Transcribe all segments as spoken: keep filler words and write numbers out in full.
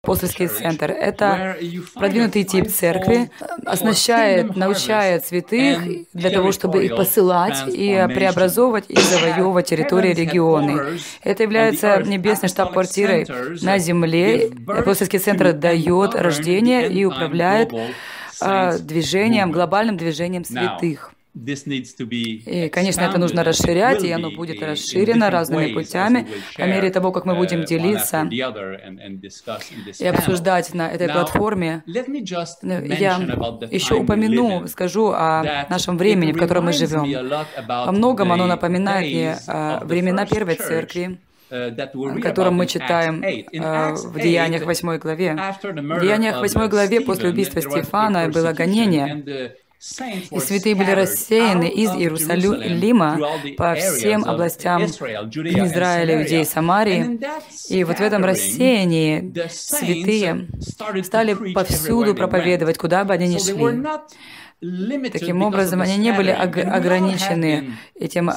апостольский центр. Это продвинутый тип церкви, оснащает, научает святых для того, чтобы их посылать и преобразовывать и завоевывать территории, регионы. Это является небесной штаб-квартирой на земле. Апостольский центр дает рождение и управляет а, движением, глобальным движением святых. И, конечно, это нужно расширять, и оно будет расширено разными путями по мере того, как мы будем делиться и обсуждать на этой платформе. Я еще упомяну, скажу о нашем времени, в котором мы живем. Во многом оно напоминает мне времена Первой Церкви, о котором мы читаем в Деяниях восьмой главе. В Деяниях восьмой главе после убийства Стефана было гонение. И святые были рассеяны из Иерусалима по всем областям Израиля, Иудеи и Самарии. И вот в этом рассеянии святые стали повсюду проповедовать, куда бы они ни шли. Таким образом, они не были ограничены этим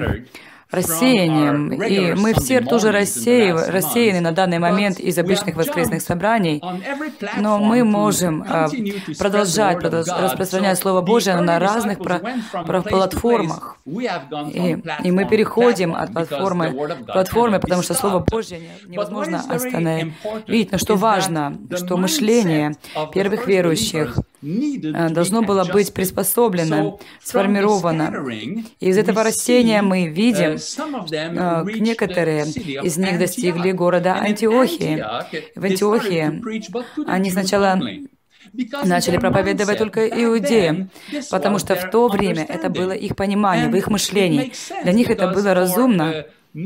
рассеянием. И мы все тоже рассеяны, рассеяны на данный момент из обычных воскресных собраний, но мы можем продолжать, продолжать распространять Слово Божие на разных про, про платформах. И, и мы переходим от платформы к платформе, потому что Слово Божье невозможно остановить. Но что важно, что мышление первых верующих должно было быть приспособлено, сформировано. И из этого рассеяния мы видим, некоторые из них достигли города Антиохии. В Антиохии они сначала начали проповедовать только иудеям, потому что в то время это было их понимание, в их мышлении. Для них это было разумно,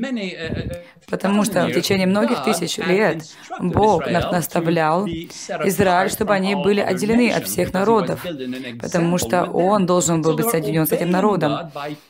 потому что в течение многих тысяч лет Бог наставлял Израиль, чтобы они были отделены от всех народов, потому что Он должен был быть соединен с этим народом.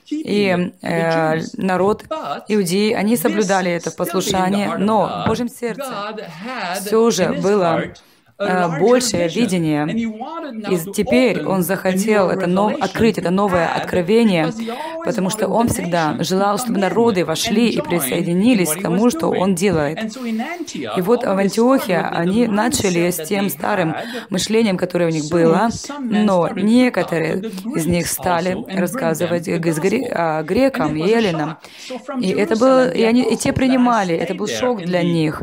И э, народ, иудеи, они соблюдали это в послушании, но в Божьем сердце все же было большее видение. И теперь он захотел это нов... открыть это новое откровение, потому что он всегда желал, чтобы народы вошли и присоединились к тому, что он делает. И вот в Антиохии они начали с тем старым мышлением, которое у них было, но некоторые из них стали рассказывать грекам, еллинам. И это было, и они и те принимали, это был шок для них.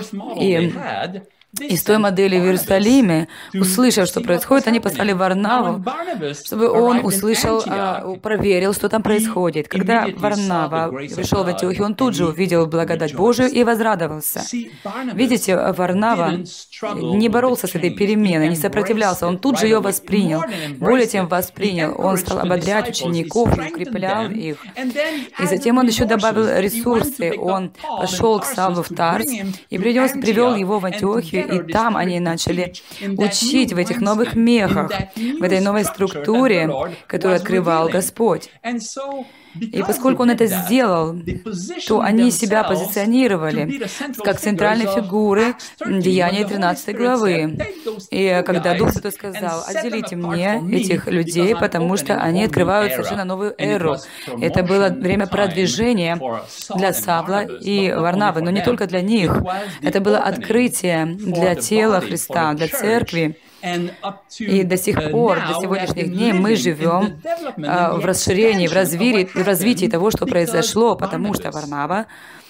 И из той модели в Иерусалиме, услышав, что происходит, они послали Варнаву, чтобы он услышал, проверил, что там происходит. Когда Варнава пришел в Антиохию, он тут же увидел благодать Божию и возрадовался. Видите, Варнава не боролся с этой переменой, не сопротивлялся, он тут же ее воспринял. Более тем, воспринял. Он стал ободрять учеников и укреплял их. И затем он еще добавил ресурсы. Он пошел к Савлу в Тарс и принес, привел его в Антиохию, и там они начали учить в этих новых мехах, в этой новой структуре, которую открывал Господь. И поскольку он это сделал, то они себя позиционировали как центральные фигуры Деяния тринадцатой главы. И когда Дух Святой сказал: «Отделите мне этих людей, потому что они открывают совершенно новую эру». Это было время продвижения для Савла и Варнавы, но не только для них. Это было открытие для тела Христа, для церкви. И до сих пор, до сегодняшних дней мы живем а, в расширении, в развитии, в развитии того, что произошло, потому что Варнава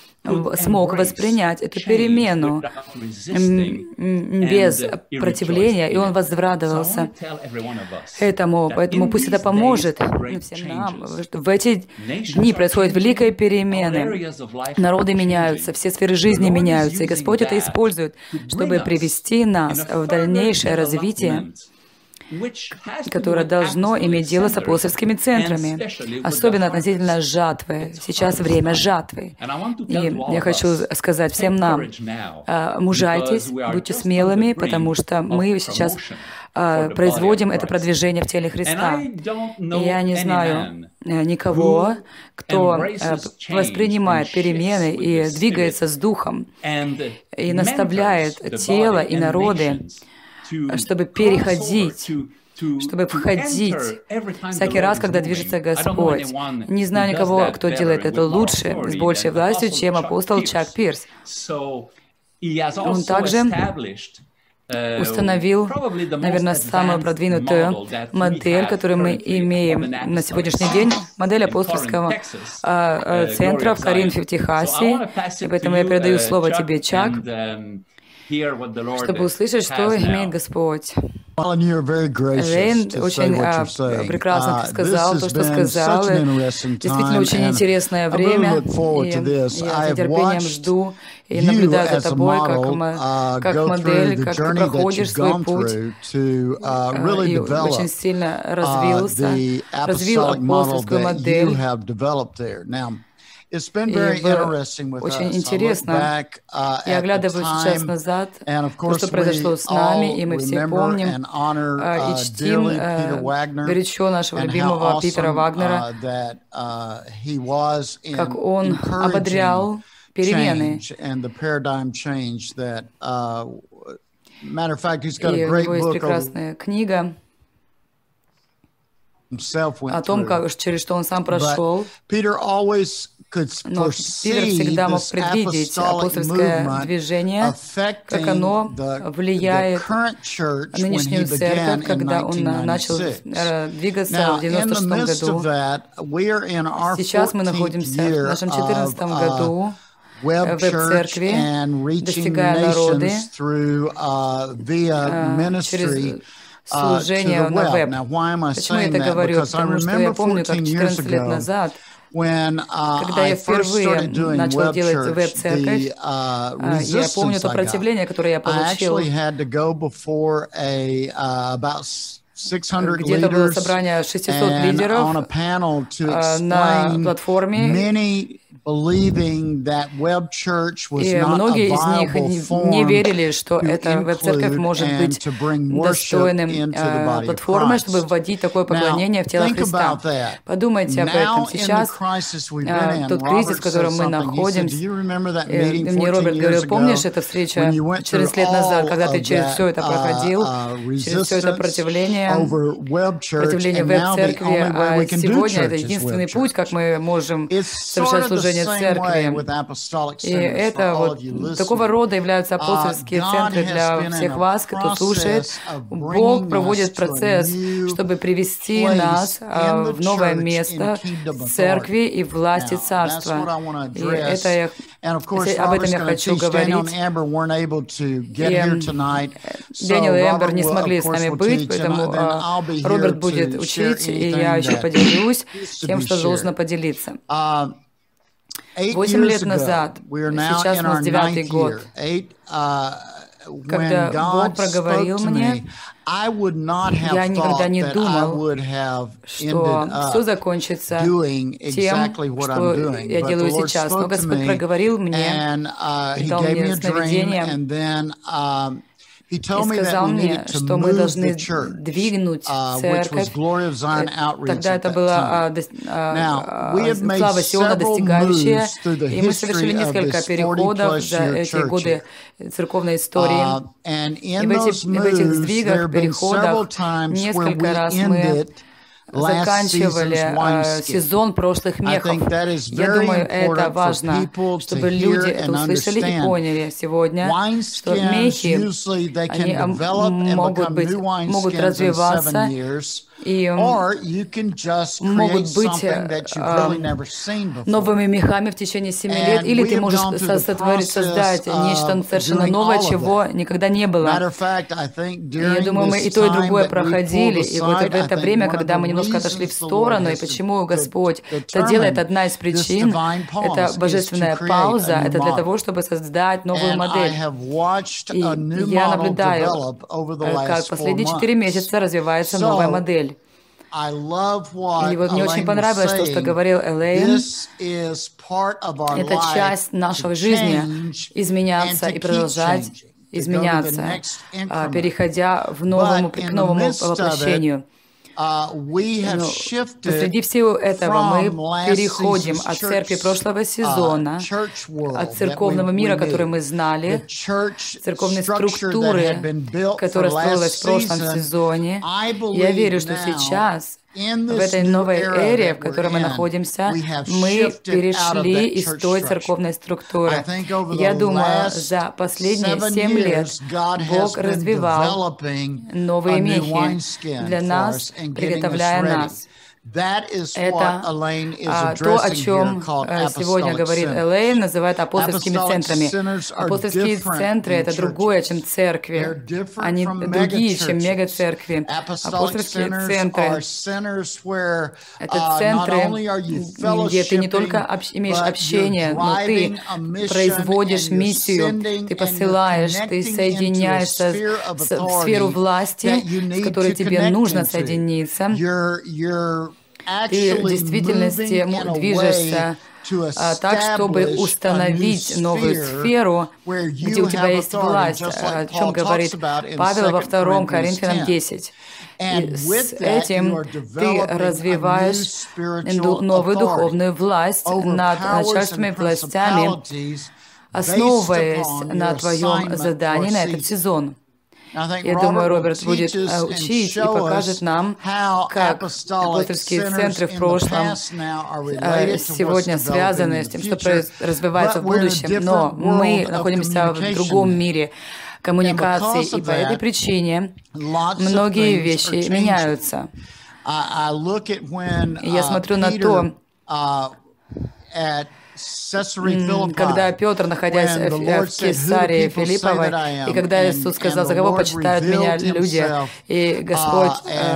смог воспринять эту перемену без противления, и он возрадовался этому. Поэтому пусть это поможет всем нам. В эти дни происходят великие перемены. Народы меняются, все сферы жизни меняются, и Господь это использует, чтобы привести нас в дальнейшее развитие, которое должно иметь дело с апостольскими центрами, особенно относительно жатвы. Сейчас время жатвы. И я хочу сказать всем нам, мужайтесь, будьте смелыми, потому что мы сейчас производим это продвижение в теле Христа. И я не знаю никого, кто воспринимает перемены и двигается с Духом, и наставляет тело и народы, чтобы переходить, чтобы входить всякий раз, когда движется Господь. Не знаю никого, кто делает это лучше, с большей властью, чем апостол Чак Пирс. Он также установил, наверное, самую продвинутую модель, которую мы имеем на сегодняшний день, модель апостольского центра в Коринфе, в Техасе. И поэтому я передаю слово тебе, Чак, чтобы услышать, что имеет Господь. Лейн очень а, прекрасно сказал то, что сказал. Действительно, очень интересное время. И я с нетерпением жду и наблюдаю за тобой, как, как модель, как ты проходишь свой путь. И очень сильно развился, развил апостольскую модель. И было очень интересно. Я оглядываю сейчас назад, то, что произошло с нами, и мы все помним и чтим горячо нашего любимого Питера Вагнера, как он ободрял перемены. И у него есть прекрасная книга о том, как, через что он сам прошел. Но Питер всегда мог предвидеть апостольское движение, как оно влияет на нынешнюю церковь, когда он начал двигаться в девяносто шестом году. Сейчас мы находимся в нашем четырнадцатом году в веб-церкви, достигая народы через служение на веб. Почему я это говорю? Потому что я помню, как четырнадцать лет назад, когда я впервые начал делать веб-церковь, я помню то противление, которое я получил. Где-то было собрание шестисот лидеров на платформе. И многие из них не верили, что эта веб-церковь может быть достойным э, платформой, чтобы вводить такое поклонение в тело Христа. Подумайте об этом. Сейчас э, тот кризис, в котором мы находимся, э, мне Роберт говорил, помнишь эту встречу четырнадцать лет назад, когда ты через все это проходил, через все это противление, противление веб-церкви, а сегодня это единственный путь, как мы можем совершать служение церкви. И это вот такого рода являются апостольские центры для всех вас, кто слушает. Бог проводит процесс, чтобы привести нас в новое место церкви и власти царства. И это я, об этом я хочу говорить. И Дэниел и Эмбер не смогли с нами быть, поэтому Роберт будет учить, и я еще поделюсь тем, что должно поделиться. Восемь лет назад, сейчас у нас девятый год, когда Бог проговорил мне, я никогда не думал, что все закончится тем, что я делаю сейчас. Но Господь проговорил мне, дал мне сновидение, и сказал мне, что мы должны двигнуть церковь. Тогда это была слава Сиона достигающая, и мы совершили несколько переходов за эти годы церковной истории. И в этих, в этих сдвигах, переходах несколько раз мы заканчивали э, сезон прошлых мехов. Я думаю, это важно, чтобы люди это услышали и поняли сегодня, что мехи, они могут быть, могут развиваться и могут быть э, новыми мехами в течение семи лет, или ты можешь сотворить, создать нечто совершенно новое, чего никогда не было. И я думаю, мы и то, и другое проходили, и вот в это время, когда мы немножко отошли в сторону, и почему Господь это делает, одна из причин, это божественная пауза, это для того, чтобы создать новую модель. И я наблюдаю, как последние четыре месяца развивается новая модель. И вот мне очень понравилось то, что говорил Элейн. Это часть нашей жизни — изменяться и продолжать изменяться, переходя в новому, к новому воплощению. Но посреди всего этого мы переходим от церкви прошлого сезона, от церковного мира, который мы знали, церковной структуры, которая строилась в прошлом сезоне. Я верю, что сейчас в этой новой эре, в которой мы находимся, мы перешли из той церковной структуры. Я думаю, за последние семь лет Бог развивал новые мехи для нас, приготовляя нас. Это а, то, о чем сегодня говорит Элейн, называют апостольскими центрами. Апостольские центры — это другое, чем церкви. Они другие, чем мегацеркви. Апостольские центры — это центры, где ты не только общ, имеешь общение, но ты производишь миссию, ты посылаешь, ты соединяешься с, в сферу власти, с которой тебе нужно соединиться. Ты в действительности движешься а, так, чтобы установить новую сферу, где у тебя есть власть, о чем говорит Павел во втором Коринфянам десять. И с этим ты развиваешь новую духовную власть над начальственными властями, основываясь на твоем задании на этот сезон. Я думаю, Роберт будет учить и покажет нам, как апостольские центры в прошлом сегодня связаны с тем, что развивается в будущем, но мы находимся в другом мире коммуникации, и по этой причине многие вещи меняются. Я смотрю на то, когда Петр, находясь в Кесарии Филипповой, и когда Иисус сказал, за кого почитают меня люди, и Господь,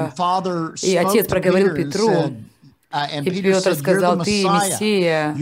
и Отец проговорил Петру, и Петр сказал, ты Мессия,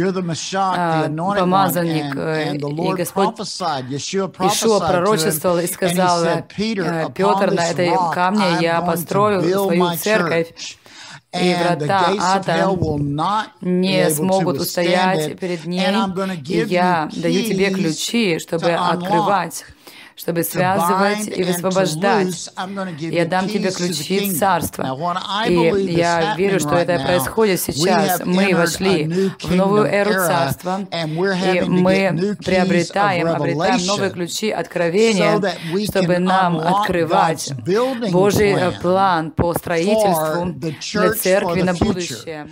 помазанник, и Господь Иешуа пророчествовал и сказал, Петр, на этой камне я построю свою церковь, и врата ада не смогут устоять перед ней, и я даю тебе ключи, чтобы открывать, чтобы связывать и высвобождать. Я дам тебе ключи царства. И я верю, что это происходит сейчас. Мы вошли в новую эру царства, и мы приобретаем, обретаем новые ключи откровения, чтобы нам открывать Божий план по строительству для церкви на будущее.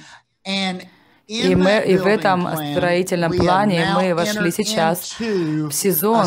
И, мы, и в этом строительном плане мы вошли сейчас в сезон,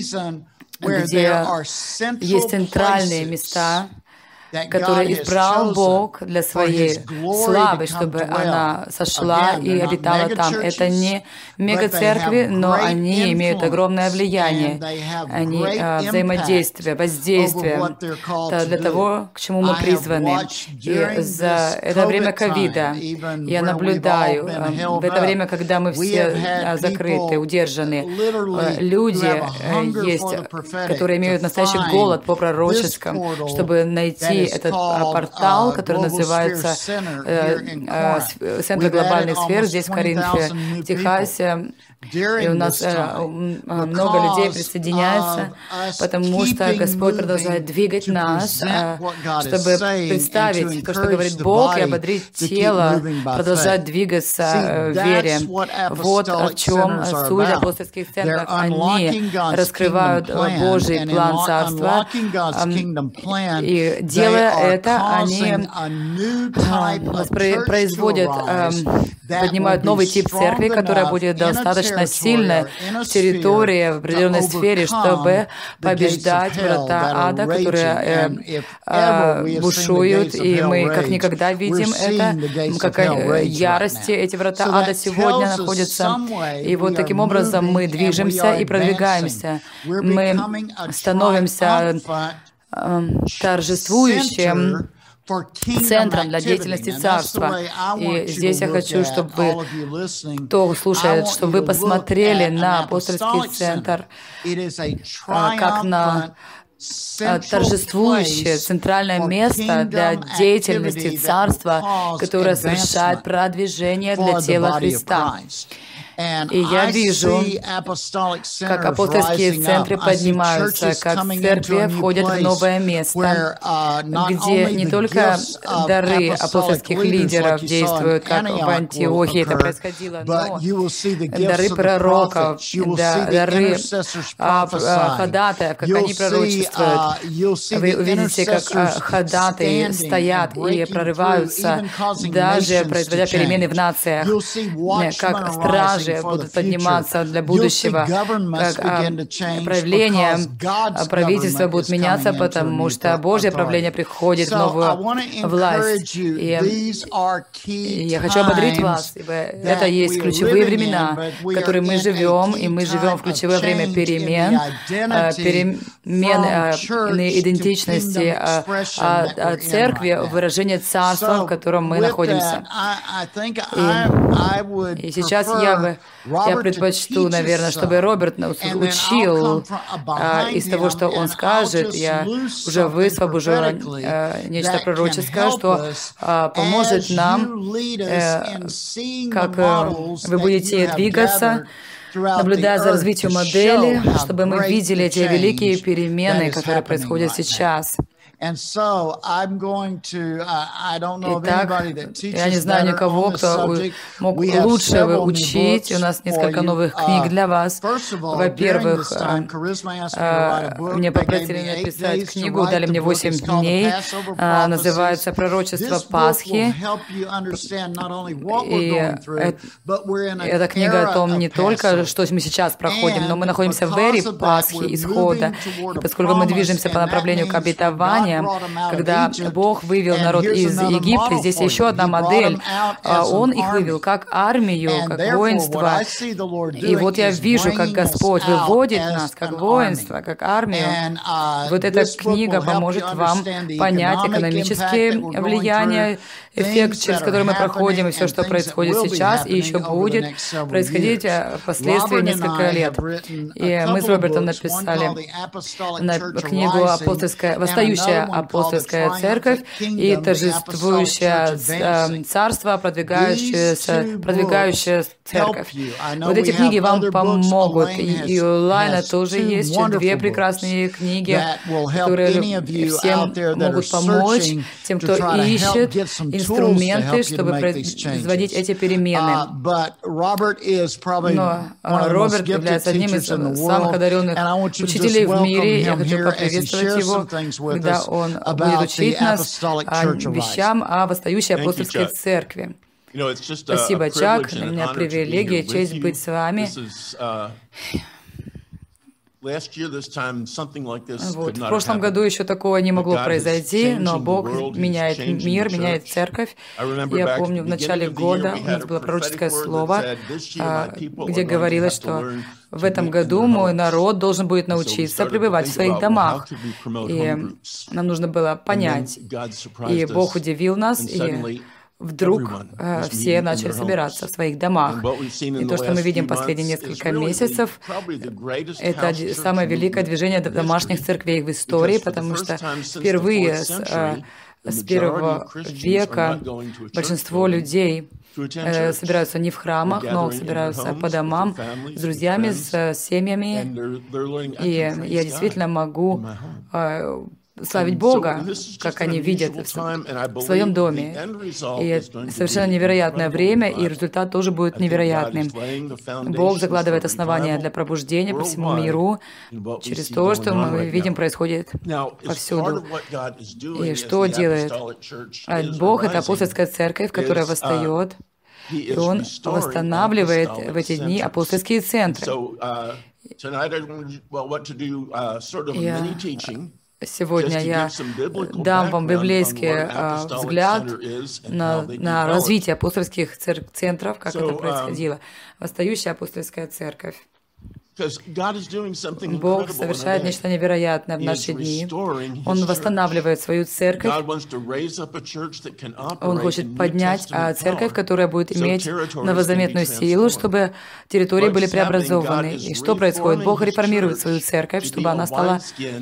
где есть центральные места, которые избрал Бог для своей славы, чтобы она сошла и обитала там. Это не мегацеркви, но они имеют огромное влияние, они а, взаимодействие, воздействие для того, к чему мы призваны. И за это время ковида я наблюдаю, в это время, когда мы все закрыты, удержаны, люди есть, которые имеют настоящий голод по пророческому, чтобы найти этот портал, который называется э, э, Центр глобальных сфер здесь, в Коринфе, в Техасе. И у нас э, много людей присоединяется, потому что Господь продолжает двигать нас, э, чтобы представить то, что говорит Бог, и ободрить тело, продолжать двигаться э, в вере. Вот в чем суть апостольских центров. Они раскрывают Божий план Царства, э, и делая это, они э, производят, э, поднимают новый тип церкви, которая будет достаточно сильной в территории, в определенной сфере, чтобы побеждать врата ада, которые э, э, бушуют, и мы как никогда видим это, как ярости эти врата ада сегодня находятся. И вот таким образом мы движемся и продвигаемся. Мы становимся э, торжествующим центром для деятельности Царства. И здесь я хочу, чтобы вы, кто слушает, чтобы вы посмотрели на апостольский центр как на торжествующее центральное место для деятельности Царства, которое совершает продвижение для тела Христа. И я вижу, как апостольские центры поднимаются, как церкви входят в новое место, где не только дары апостольских лидеров действуют, как в Антиохии это происходило, но дары пророков, дары ходатаев, как они пророчествуют. Вы увидите, как ходатаи стоят и прорываются, даже производя перемены в нациях, как стражи будут подниматься для будущего, как а, проявления правительства будут меняться, потому что Божье правление приходит в новую власть. И, и я хочу ободрить вас, ибо это есть ключевые времена, в которые мы живем, и мы живем в ключевое время перемен, перемен идентичности церкви, выражение царства, в котором мы находимся. И, и сейчас я бы я предпочту, наверное, чтобы Роберт учил а, из того, что он скажет. Я уже высвобожу а, нечто пророческое, что а, поможет нам, э, как э, вы будете двигаться, наблюдая за развитием модели, чтобы мы видели эти великие перемены, которые происходят сейчас. Итак, я не знаю никого, кто мог лучше учить. У нас несколько новых книг для вас. Во-первых, мне попросили написать книгу, дали мне восемь дней, называется «Пророчество Пасхи». И эта книга о том не только, что мы сейчас проходим, но мы находимся в эре Пасхи, исхода. И поскольку мы движемся по направлению к обетованию, когда Бог вывел народ из Египта, здесь еще одна модель. Он их вывел как армию, как воинство. И вот я вижу, как Господь выводит нас как воинство, как армию. Вот эта книга поможет вам понять экономические влияния, эффект, через который мы проходим, и все, что происходит сейчас, и еще будет происходить впоследствии несколько лет. И мы с Робертом написали книгу «Апостольская, восстающая апостольская церковь» и «Торжествующее царство, продвигающееся, продвигающая церковь». Вот эти книги вам помогут. И у Лайна тоже есть две прекрасные книги, которые всем могут помочь, тем, кто ищет инструменты, чтобы производить эти перемены. Но Роберт является одним из самых одаренных учителей в мире. Я хочу поприветствовать его, когда он будет учить нас вещам о восстающей апостольской церкви. Спасибо, Чак. Для меня привилегия, честь быть с вами. Вот. В прошлом году еще такого не могло произойти, но Бог меняет мир, меняет церковь. Я помню, в начале года у нас было пророческое слово, где говорилось, что в этом году мой народ должен будет научиться пребывать в своих домах. И нам нужно было понять. И Бог удивил нас, и вдруг э, все начали собираться в своих домах. И то, что мы видим последние несколько месяцев, это самое великое движение домашних церквей в истории, потому что впервые с, э, с первого века большинство людей э, собираются не в храмах, но собираются по домам с друзьями, с семьями. И я действительно могу э, славить Бога, как они видят в своем доме. И совершенно невероятное время, и результат тоже будет невероятным. Бог закладывает основания для пробуждения по всему миру через то, что мы видим происходит повсюду. И что делает Бог? Это апостольская церковь, которая восстает, и Он восстанавливает в эти дни апостольские центры. И сегодня я дам вам библейский uh, взгляд на, на развитие апостольских цер- центров, как это происходило. Восстающая апостольская церковь. Бог совершает нечто невероятное в наши дни. Он восстанавливает свою церковь. Он хочет поднять церковь, которая будет иметь новозаветную силу, чтобы территории были преобразованы. И что происходит? Бог реформирует свою церковь, чтобы она стала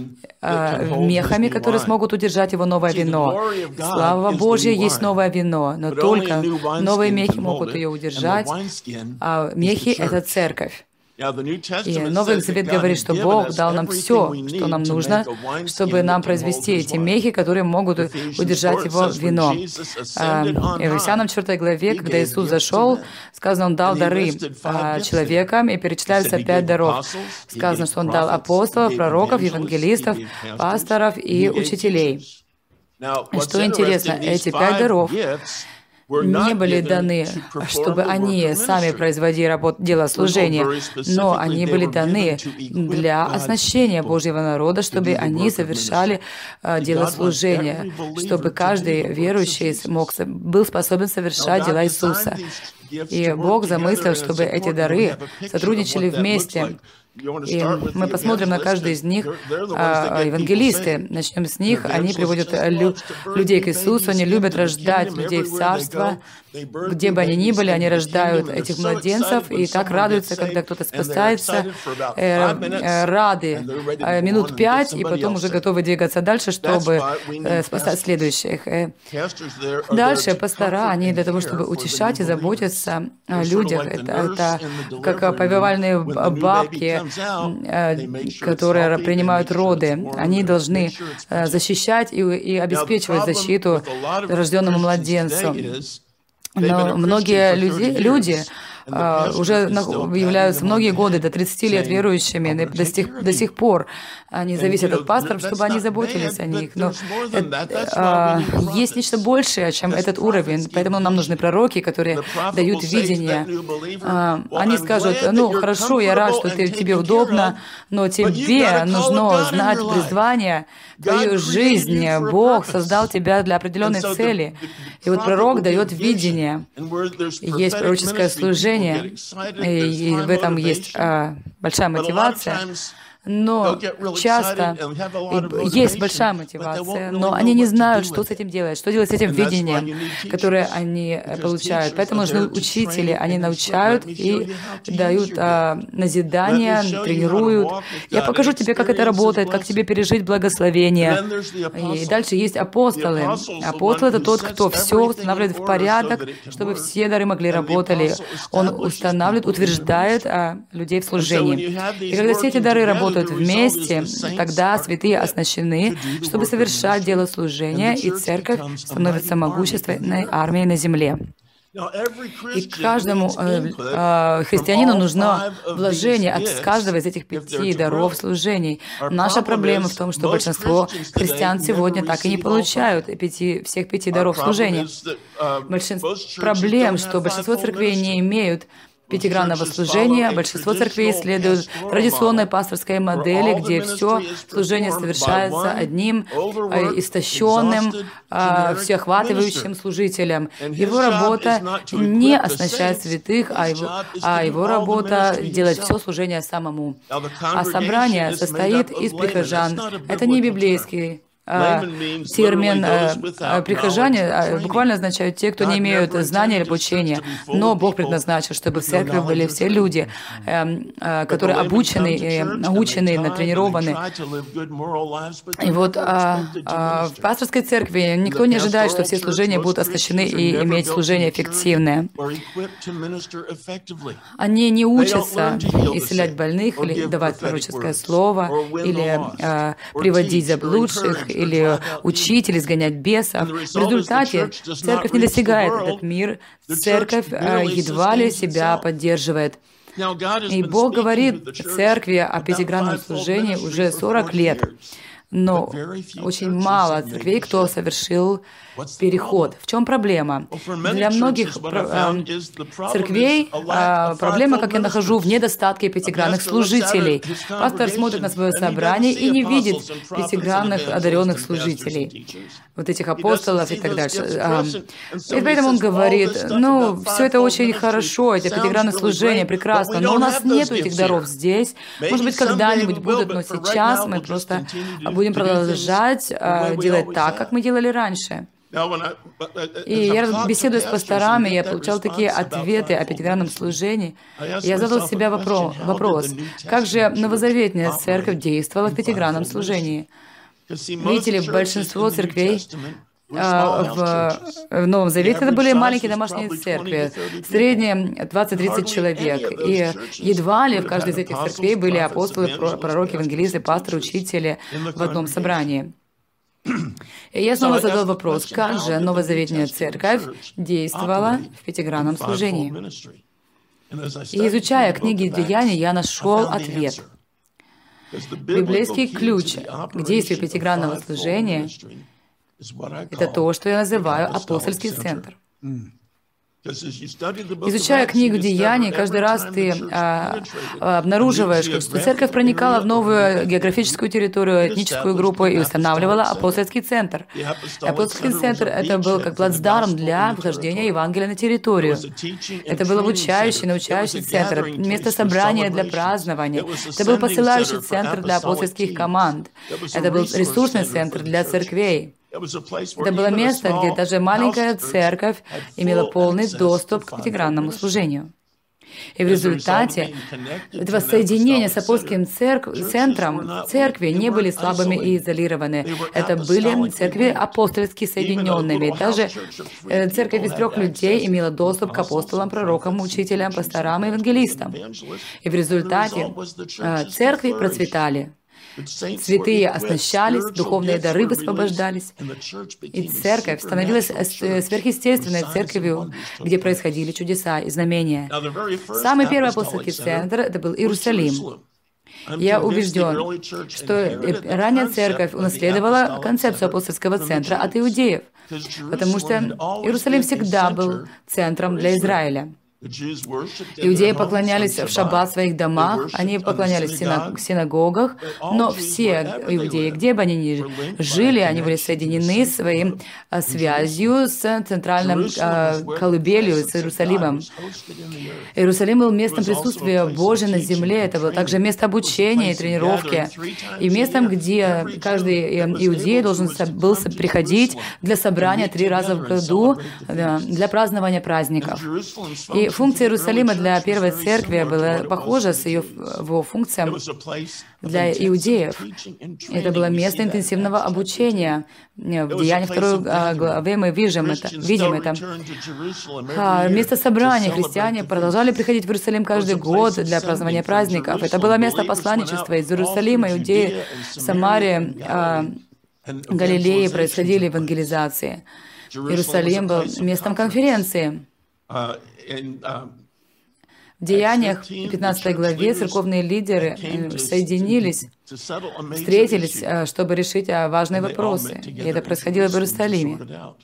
мехами, которые смогут удержать его новое вино. Слава Божья, есть новое вино, но только новые мехи могут ее удержать, а мехи — это церковь. И Новый Завет говорит, что Бог дал нам все, что нам нужно, чтобы нам произвести эти мехи, которые могут удержать его вино. И в Ефесянам четвёртой главе, когда Иисус зашел, сказано, Он дал дары человекам, и перечисляются пять даров. Сказано, что Он дал апостолов, пророков, евангелистов, пасторов и учителей. И что интересно, эти пять даров не были даны, чтобы они сами производили работу, дело служения, но они были даны для оснащения Божьего народа, чтобы они совершали uh, дело служения, чтобы каждый верующий мог, был способен совершать дела Иисуса. И Бог замыслил, чтобы эти дары сотрудничали вместе. И мы посмотрим на каждый из них. А, евангелисты, начнем с них. Они приводят лю людей к Иисусу, они любят рождать людей в Царство. Где бы они ни были, они рождают этих младенцев и так радуются, когда кто-то спасается, э, э, рады э, минут пять, и потом уже готовы двигаться дальше, чтобы э, спасать следующих. Э, дальше пастора, они для того, чтобы утешать и заботиться о людях. Это, это как повивальные бабки, которые принимают роды. Они должны защищать и, и обеспечивать защиту рожденному младенцу. Но многие люди, люди Uh, уже являются многие годы, до тридцати лет верующими, до сих, до сих пор они зависят от пасторов, чтобы они заботились о них. Но это, uh, есть нечто большее, чем этот уровень, поэтому нам нужны пророки, которые дают видение. Uh, они скажут, ну, хорошо, я рад, что ты, тебе удобно, но тебе нужно знать призвание, твою жизнь. Бог создал тебя для определенной цели. И вот пророк дает видение. Есть пророческое служение, и в этом есть а, большая мотивация. Но часто есть большая мотивация, но они не знают, что с этим делать, что делать с этим видением, которое они получают. Поэтому нужны учители, они научают и дают а, назидания, тренируют. Я покажу тебе, как это работает, как тебе пережить благословение. И дальше есть апостолы. Апостол — это тот, кто все устанавливает в порядок, чтобы все дары могли работать. Он устанавливает, утверждает а, людей в служении. И когда все эти дары работают вместе, тогда святые оснащены, чтобы совершать дело служения, и церковь становится могущественной армией на земле. И каждому э, э, христианину нужно вложение от каждого из этих пяти даров служений. Наша проблема в том, что большинство христиан сегодня так и не получают пяти, всех пяти даров служения. Большинство проблем, что большинство церквей не имеют пятигранного служения. Большинство церквей следуют традиционной пасторской модели, где все служение совершается одним истощенным, всеохватывающим служителем. Его работа не оснащать святых, а его, а его работа делать все служение самому. А собрание состоит из прихожан. Это не библейский термин «прихожане» буквально означают те, кто не имеют знания или обучения. Но Бог предназначил, чтобы в церкви были все люди, которые обучены, научены, натренированы. И вот в пасторской церкви никто не ожидает, что все служения будут оснащены и иметь служение эффективное. Они не учатся исцелять больных или давать пророческое слово, или приводить заблудших, или учить, или изгонять бесов. В результате церковь не достигает этот мир, церковь едва ли себя поддерживает. И Бог говорит церкви о пятигранном служении уже сорок лет. но очень мало церквей, кто совершил переход. В чем проблема? Для многих церквей проблема, как я нахожу, в недостатке пятигранных служителей. Пастор смотрит на свое собрание и не видит пятигранных одаренных служителей, вот этих апостолов и так дальше. И поэтому он говорит, ну, все это очень хорошо, эти пятигранные служения, прекрасно, но у нас нет этих даров здесь. Может быть, когда-нибудь будут, но сейчас мы просто будем продолжать делать так, как мы делали раньше. И я беседую с пасторами, я получал такие ответы о пятигранном служении. Я задал себе вопрос, как же новозаветная церковь действовала в пятигранном служении? Видите ли, большинство церквей в Новом Завете это были маленькие домашние церкви, в среднем двадцать-тридцать человек. И едва ли в каждой из этих церквей были апостолы, пророки, евангелисты, пасторы, учители в одном собрании. И я снова задал вопрос, как же новозаветная церковь действовала в пятигранном служении? И изучая книги Деяний, я нашел ответ. Библейский ключ к действию пятигранного служения — это то, что я называю апостольский центр. Изучая книгу Деяний, каждый раз ты а, обнаруживаешь, что церковь проникала в новую географическую территорию, этническую группу и устанавливала апостольский центр. И апостольский центр — это был как плацдарм для вхождения Евангелия на территорию. Это был обучающий, научающий центр, место собрания для празднования. Это был посылающий центр для апостольских команд. Это был ресурсный центр для церквей. Это было место, где даже маленькая церковь имела полный доступ к пятигранному служению. И в результате этого соединения с апостольским центром церкви не были слабыми и изолированы. Это были церкви апостольски соединенными. Даже церковь из трех людей имела доступ к апостолам, пророкам, учителям, пасторам и евангелистам. И в результате церкви процветали. Святые оснащались, духовные дары высвобождались, и церковь становилась сверхъестественной церковью, где происходили чудеса и знамения. Самый первый апостольский центр — это был Иерусалим. Я убежден, что ранняя церковь унаследовала концепцию апостольского центра от иудеев, потому что Иерусалим всегда был центром для Израиля. Иудеи поклонялись в шаббат в своих домах, они поклонялись в синагогах, но все иудеи, где бы они ни жили, они были соединены своей связью с центральным колыбелью, с Иерусалимом. Иерусалим был местом присутствия Божьего на земле, это было также место обучения и тренировки, и местом, где каждый иудей должен был приходить для собрания три раза в году, для празднования праздников. И функция Иерусалима для первой церкви была похожа с ее, его функцией для иудеев. Это было место интенсивного обучения. В Деяниях второй главе мы видим это. Видим это. Место собрания. Христиане продолжали приходить в Иерусалим каждый год для празднования праздников. Это было место посланничества. Из Иерусалима иудеи в Самаре, Галилее происходили евангелизации. Иерусалим был местом конференции. В Деяниях пятнадцатой главе церковные лидеры соединились, встретились, чтобы решить важные вопросы. И это происходило в Иерусалиме.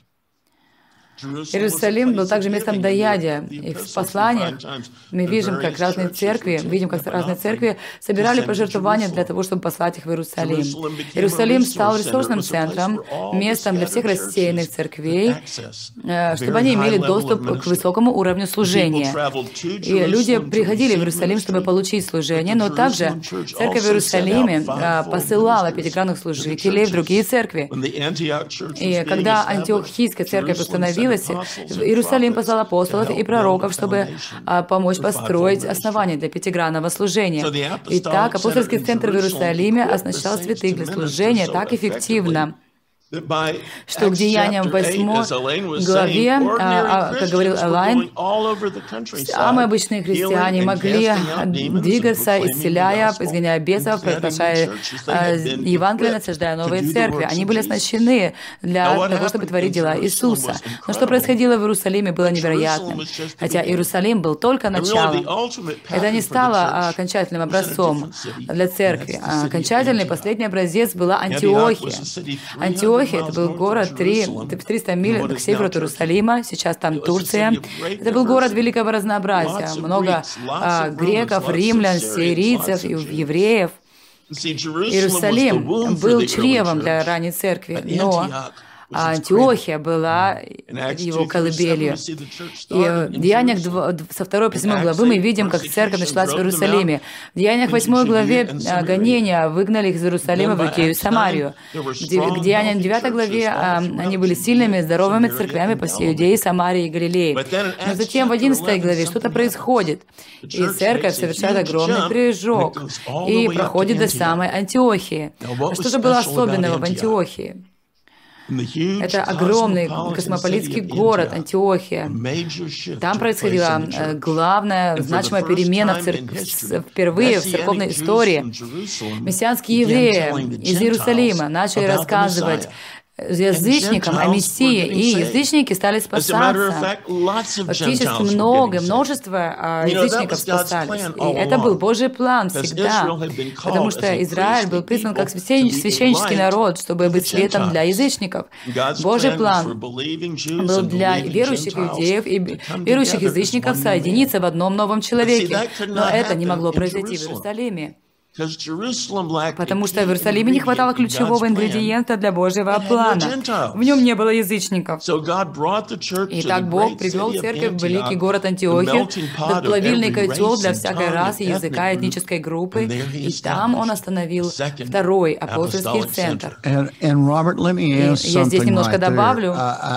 Иерусалим был также местом даяния. И в посланиях мы видим, как разные церкви, видим, как разные церкви собирали пожертвования для того, чтобы послать их в Иерусалим. Иерусалим стал ресурсным центром, местом для всех рассеянных церквей, чтобы они имели доступ к высокому уровню служения. И люди приходили в Иерусалим, чтобы получить служение, но также церковь в Иерусалиме посылала пятигранных служителей в другие церкви. И когда Антиохийская церковь установилась, Иерусалим послал апостолов и пророков, чтобы а, помочь построить основания для пятигранного служения. Итак, апостольский центр в Иерусалиме оснащал святых для служения так эффективно. что к Деяниям восьмой главе, а, как говорил Элайн, самые обычные христиане могли двигаться, исцеляя, изгоняя бесов, провозглашая Евангелие, насаждая новые церкви. Они были оснащены для того, чтобы творить дела Иисуса. Но что происходило в Иерусалиме, было невероятным. Хотя Иерусалим был только началом. Это не стало окончательным образцом для церкви. Окончательный последний образец была Антиохия. Антиохия — это был город триста миль к северу от Иерусалима, сейчас там Турция. Это был город великого разнообразия. Много а, греков, римлян, сирийцев, евреев. Иерусалим был чревом для ранней церкви, но Антиохия была его колыбелью. И в Деяниях со второй по седьмой главы мы видим, как церковь началась в Иерусалиме. В Деяниях восьмой главе гонения выгнали их из Иерусалима в Иудею и Самарию. В Деяниях девятой главе они были сильными, здоровыми церквями по всей Иудее, Самарии и Галилее. Но затем в одиннадцатой главе что-то происходит, и церковь совершает огромный прыжок и проходит до самой Антиохии. Что же было особенного в Антиохии? Это огромный космополитский город Антиохия. Там происходила главная, значимая перемена в цер... впервые в церковной истории. Мессианские евреи из Иерусалима начали рассказывать язычникам о Мессии, и язычники стали спасаться. Фактически много, множество язычников спасались. И это был Божий план всегда, потому что Израиль был призван как священнический народ, чтобы быть светом для язычников. Божий план был для верующих иудеев и верующих язычников соединиться в одном новом человеке. Но это не могло произойти в Иерусалиме. Потому что в Иерусалиме не хватало ключевого ингредиента для Божьего плана. В нем не было язычников. Итак, Бог привел церковь в великий город Антиохию, в плавильный котел для всякой расы, языка, этнической группы, и там Он остановил второй апостольский центр. И я здесь немножко добавлю.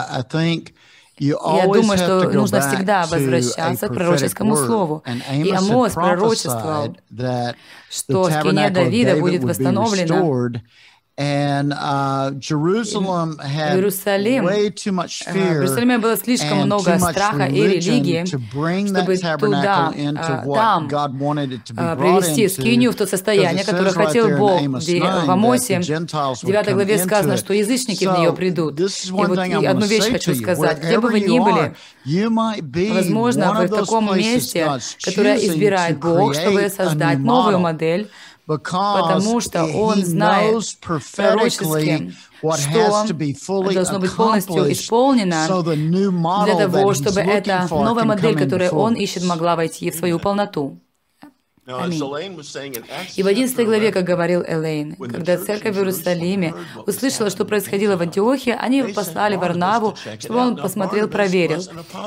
Я думаю, что нужно всегда возвращаться к пророческому слову. И Амос пророчествовал, что скиния Давида будет восстановлена. And, uh, Jerusalem had Иерусалим, way too much fear в Иерусалиме было слишком много страха и религии, чтобы туда, там, привести скинию в то состояние, которое хотел Бог. В Амосе, в девятой главе сказано, что язычники в нее придут. И вот и одну вещь хочу сказать. Где бы вы ни были, возможно, вы в таком месте, которое избирает Бог, чтобы создать новую модель, потому что Он знает пророчески, что должно быть полностью исполнено для того, чтобы эта новая модель, которую Он ищет, могла войти в свою полноту. Аминь. И в одиннадцатой главе, как говорил Элейн, когда церковь в Иерусалиме услышала, что происходило в Антиохии, они послали Варнаву, чтобы он посмотрел, проверил.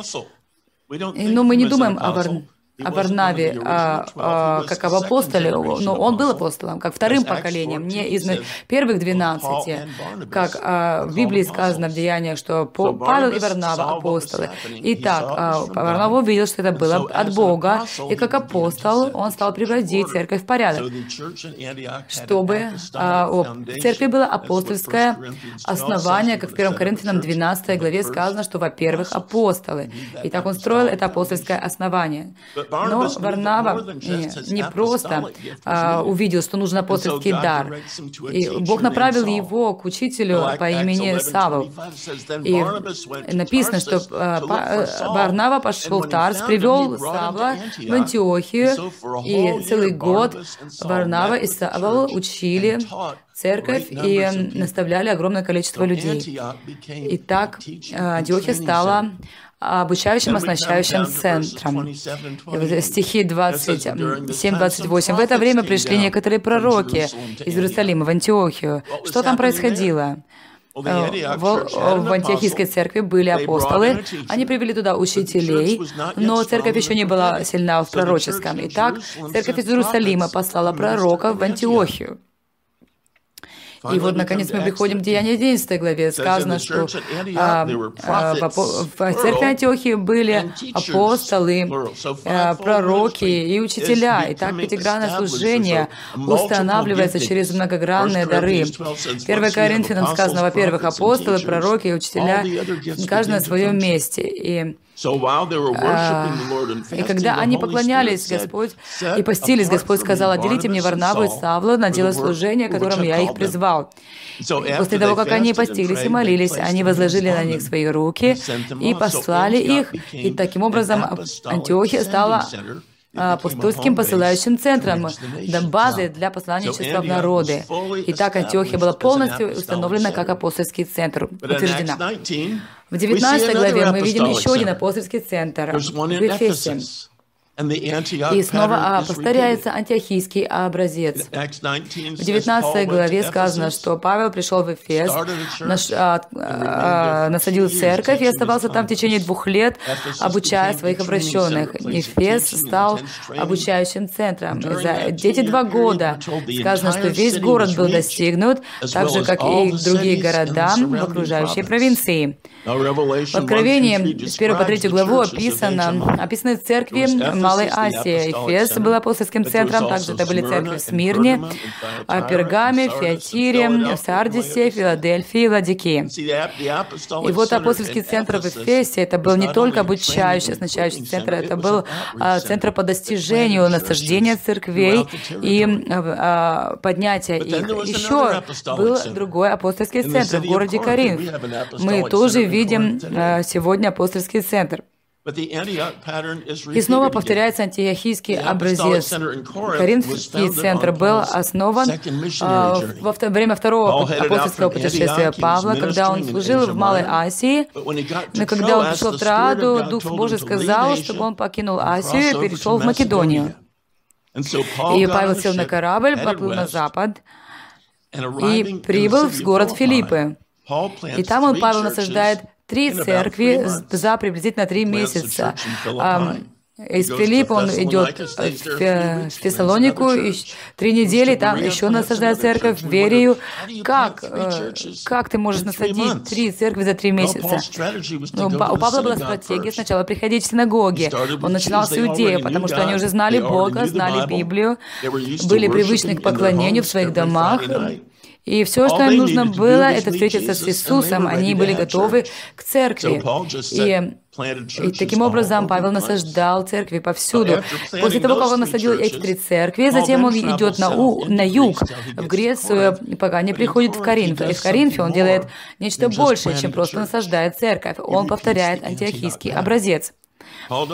Но мы не думаем о Варнаве. о Варнаве а, а, как об апостоле, но он был апостолом, как вторым поколением, не из первых двенадцати, как а, в Библии сказано в Деяниях, что Павел и Варнава апостолы. Итак, а, Варнава увидел, что это было от Бога, и как апостол он стал приводить церковь в порядок, чтобы а, о, в церкви было апостольское основание, как в первом Коринфянам двенадцатой главе сказано, что, во-первых, апостолы. И так он строил это апостольское основание. Но Варнава не, не просто а, увидел, что нужен апостольский дар. И Бог направил его к учителю по имени Савл. И написано, что а, Варнава пошел в Тарс, привел Савла в Антиохию, и целый год Варнава и Савл учили церковь и наставляли огромное количество людей. И так Антиохия стала обучающим, оснащающим центром. Стихи двадцать семь двадцать восемь. В это время пришли некоторые пророки из Иерусалима в Антиохию. Что там происходило? В, в Антиохийской церкви были апостолы, они привели туда учителей, но церковь еще не была сильна в пророческом. Итак, церковь из Иерусалима послала пророков в Антиохию. И вот, наконец, мы приходим к Деяния одиннадцатой главе. Сказано, что а, а, в, в церкви Антиохии были апостолы, а, пророки и учителя. И так пятигранное служение устанавливается через многогранные дары. первое Коринфянам сказано, во-первых, апостолы, пророки и учителя, каждый на своем месте. И И когда они поклонялись Господь и постились, Господь сказал, отделите мне Варнаву и Савла на дело служения, которым я их призвал. После того, как они постились и молились, они возложили на них свои руки и послали их. И таким образом Антиохия стала апостольским посылающим центром, базой для посланничества в народы. И так Антиохия была полностью установлена как апостольский центр, утверждена. В девятнадцатой главе мы видим еще один апостольский центр в Эфесе. И снова повторяется антиохийский образец. В девятнадцатой главе сказано, что Павел пришел в Эфес, наш, а, а, насадил церковь и оставался там в течение двух лет, обучая своих обращенных. Эфес стал обучающим центром. За эти два года сказано, что весь город был достигнут, так же, как и другие города в окружающей провинции. В Откровении с первой по третью главу описано, описаны церкви Малой Асии. Эфес был апостольским центром, также это были церкви в Смирне, Пергаме, Фиатире, Сардисе, Филадельфии, Ладикии. И вот апостольский центр в Эфесе, это был не только обучающий, оснащающий центр, это был а, центр по достижению насаждения церквей и а, поднятия их. Еще был другой апостольский центр в городе Коринф. Мы тоже видим а, сегодня апостольский центр. И снова повторяется антиохийский образец. Коринфский центр был основан а, во время второго апостольского путешествия Павла, когда он служил в Малой Асии. Но когда он пришел в Троаду, Дух Божий сказал, чтобы он покинул Асию и перешел в Македонию. И Павел сел на корабль, поплыл на запад и прибыл в город Филиппы. И там он, Павел, насаждает три церкви за приблизительно три месяца. Из Филиппа он идет в Фессалонику, и три недели там еще насаждает церковь, в Верию. Как, как ты можешь насадить три церкви за три месяца? Ну, у Павла была стратегия сначала приходить в синагоги. Он начинал с Иудеи, потому что они уже знали Бога, знали Библию, были привычны к поклонению в своих домах. И все, что им нужно было, это встретиться с Иисусом. Они были готовы к церкви. И, и таким образом Павел насаждал церкви повсюду. После того, как он насадил эти три церкви, затем он идет на, у, на юг, в Грецию, пока не приходит в Коринф. И в Коринфе он делает нечто большее, чем просто насаждает церковь. Он повторяет антиохийский образец. И он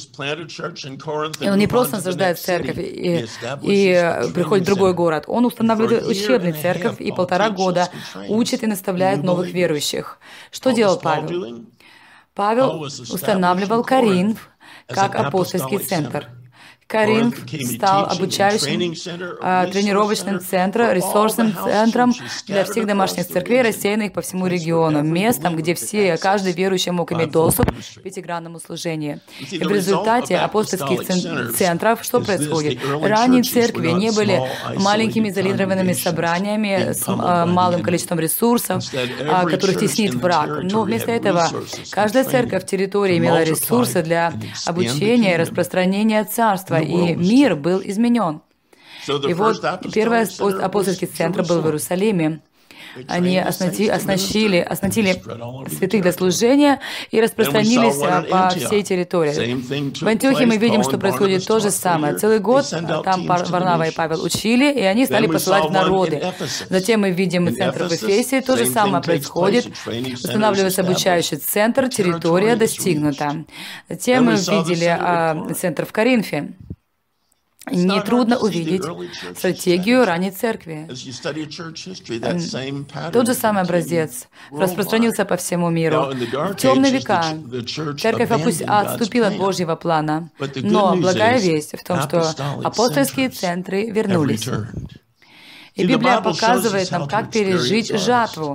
не просто насаждает церковь и, и приходит в другой город. Он устанавливает учебную церковь и полтора года учит и наставляет новых верующих. Что делал Павел? Павел устанавливал Коринф как апостольский центр. Коринф стал обучающим, а, тренировочным центром, ресурсным центром для всех домашних церквей, рассеянных по всему региону, местом, где все, каждый верующий мог иметь доступ к пятигранному служению. И в результате апостольских центров что происходит? Ранние церкви не были маленькими изолированными собраниями с а, малым количеством ресурсов, а, которых теснит враг. Но вместо этого каждая церковь в территории имела ресурсы для обучения и распространения царства, и мир был изменен. И вот первый апостольский центр был в Иерусалиме. Они оснастили, оснастили, оснастили святых для служения и распространились по всей территории. В Антиохии мы видим, что происходит то же самое. Целый год там Варнава и Павел учили, и они стали посылать в народы. Затем мы видим центр в Эфесе, то же самое происходит. Устанавливается обучающий центр, территория достигнута. Затем мы видели а, центр в Коринфе. Нетрудно увидеть стратегию ранней церкви. Тот же самый образец распространился по всему миру. В темные века церковь отступила от Божьего плана, но благая весть в том, что апостольские центры вернулись. И Библия показывает нам, как пережить жатву.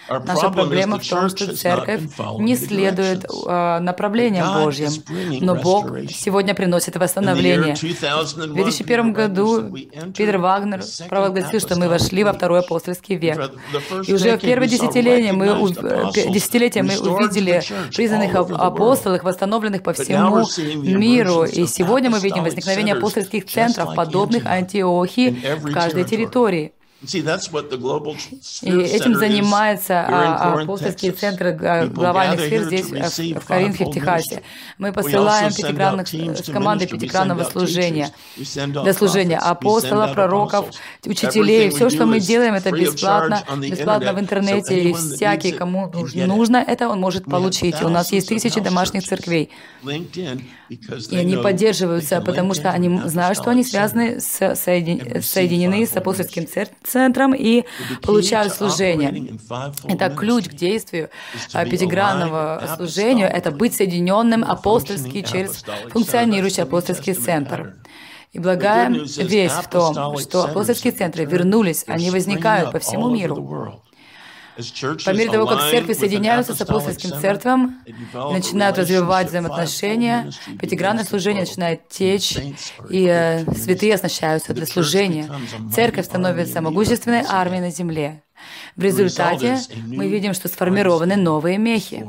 Наша проблема в том, что церковь не следует uh, направлениям Божьим, но Бог сегодня приносит восстановление. В две тысячи первом году Питер Вагнер провозгласил, что мы вошли во второй апостольский век. И уже в первое десятилетие мы, десятилетие мы увидели признанных апостолов, восстановленных по всему миру. И сегодня мы видим возникновение апостольских центров, подобных Антиохии в каждой территории. И этим занимаются апостольские центры глобальных сфер здесь, в Коринфе, в Техасе. Мы посылаем пятикранных, с командой пятикранного служения, для служения апостолов, пророков, учителей. Все, что мы делаем, это бесплатно, бесплатно в интернете, и всякий, кому нужно это, он может получить. И у нас есть тысячи домашних церквей. И они поддерживаются, потому что они знают, что они связаны, с, соедин, соединены с апостольским центром и получают служение. Итак, ключ к действию пятигранного служения — это быть соединенным апостольски через функционирующий апостольский центр. И благая весть в том, что апостольские центры вернулись, они возникают по всему миру. По мере того, как церкви соединяются с апостольским церквом, начинают развивать взаимоотношения, пятигранное служение начинает течь, и э, святые оснащаются для служения. Церковь становится могущественной армией на земле. В результате мы видим, что сформированы новые мехи.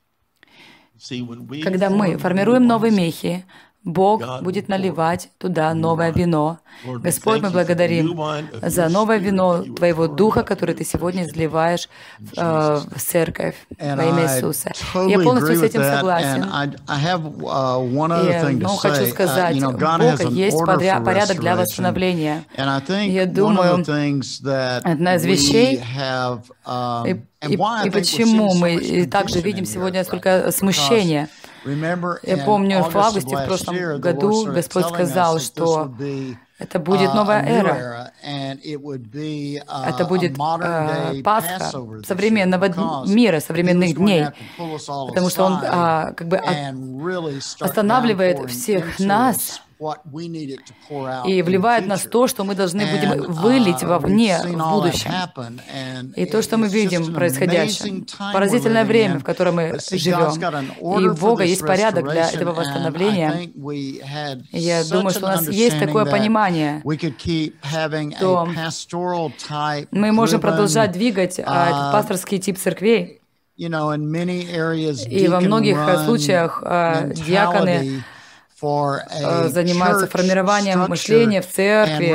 Когда мы формируем новые мехи, Бог будет наливать туда новое вино. Господь, мы благодарим за новое вино Твоего Духа, который Ты сегодня изливаешь э, в церковь во имя Иисуса. Я полностью с этим согласен. И, ну, хочу сказать, у Бога есть порядок для восстановления. Я думаю, одна из вещей, и, и, и почему мы также видим сегодня столько смущения. Я помню, в августе в прошлом году Господь сказал, что это будет новая эра. Это будет э, Пасха современного мира, современных дней. Потому что Он э, как бы от, останавливает всех нас и вливает в нас то, что мы должны будем вылить вовне в будущем. И то, что мы видим происходящее. Поразительное время, в котором мы живем. И у Бога есть порядок для этого восстановления. И я думаю, что у нас есть такое понимание, что мы можем продолжать двигать этот пасторский тип церквей. И во многих случаях диаконы занимаются формированием мышления в церкви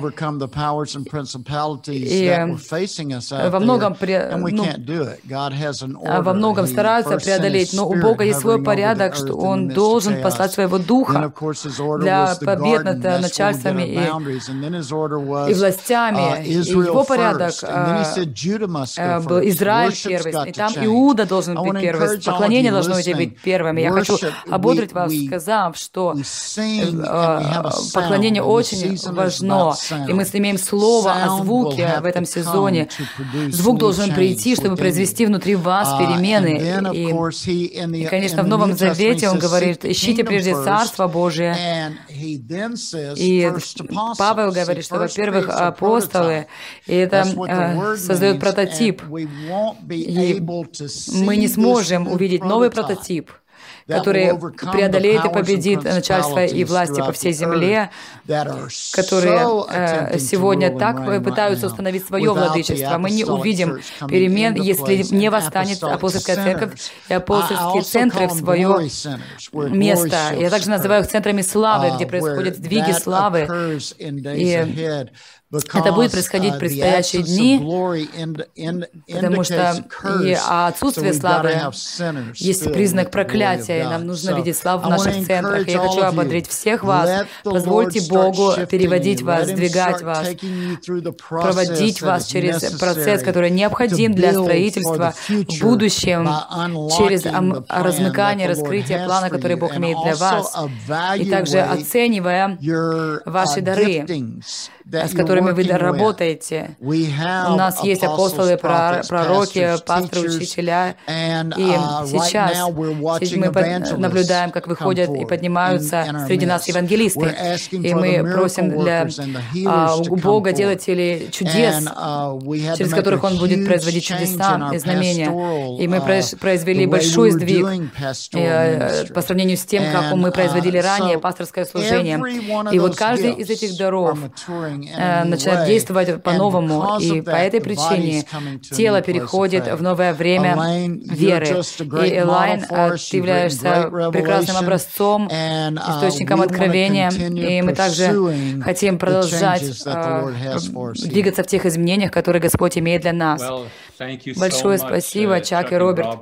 и во многом, ну, во многом стараются преодолеть, но у Бога есть свой порядок, что Он должен послать Своего Духа для побед над начальствами и, и властями. И Его порядок был Израиль первый, и там Иуда должен быть первым, поклонение должно быть первым. Я хочу ободрить вас, сказав, что что поклонение очень важно, и мы имеем слово о звуке в этом сезоне. Звук должен прийти, чтобы произвести внутри вас перемены. И, и конечно, в Новом Завете Он говорит, ищите прежде Царство Божие. И Павел говорит, что, во-первых, апостолы, и это э, создает прототип. И мы не сможем увидеть новый прототип, который преодолеет и победит начальство и власти по всей земле, которые э, сегодня так пытаются установить свое владычество. Мы не увидим перемен, если не восстанет апостольская церковь и апостольские центры в свое место. Я также называю их центрами славы, где происходят сдвиги славы. И это будет происходить в предстоящие дни, потому что и отсутствие славы есть признак проклятия, и нам нужно видеть славу в наших центрах. И я хочу ободрить всех вас. Позвольте Богу переводить вас, сдвигать вас, проводить вас через процесс, который необходим для строительства в будущем, через размыкание, раскрытие плана, который Бог имеет для вас, и также оценивая ваши дары. с которыми вы работаете. У нас есть апостолы, пророки, пасторы, учителя. И сейчас мы наблюдаем, как выходят и поднимаются среди нас евангелисты. И мы просим для у Бога делателей чудес, через которых Он будет производить чудеса и знамения. И мы произвели большой сдвиг по сравнению с тем, как мы производили ранее пасторское служение. И вот каждый из этих даров начинает действовать по-новому. И по этой причине тело переходит в новое время веры. И, Элайн, ты являешься прекрасным образцом, источником откровения. И мы также хотим продолжать двигаться в тех изменениях, которые Господь имеет для нас. Большое спасибо, Чак и Роберт.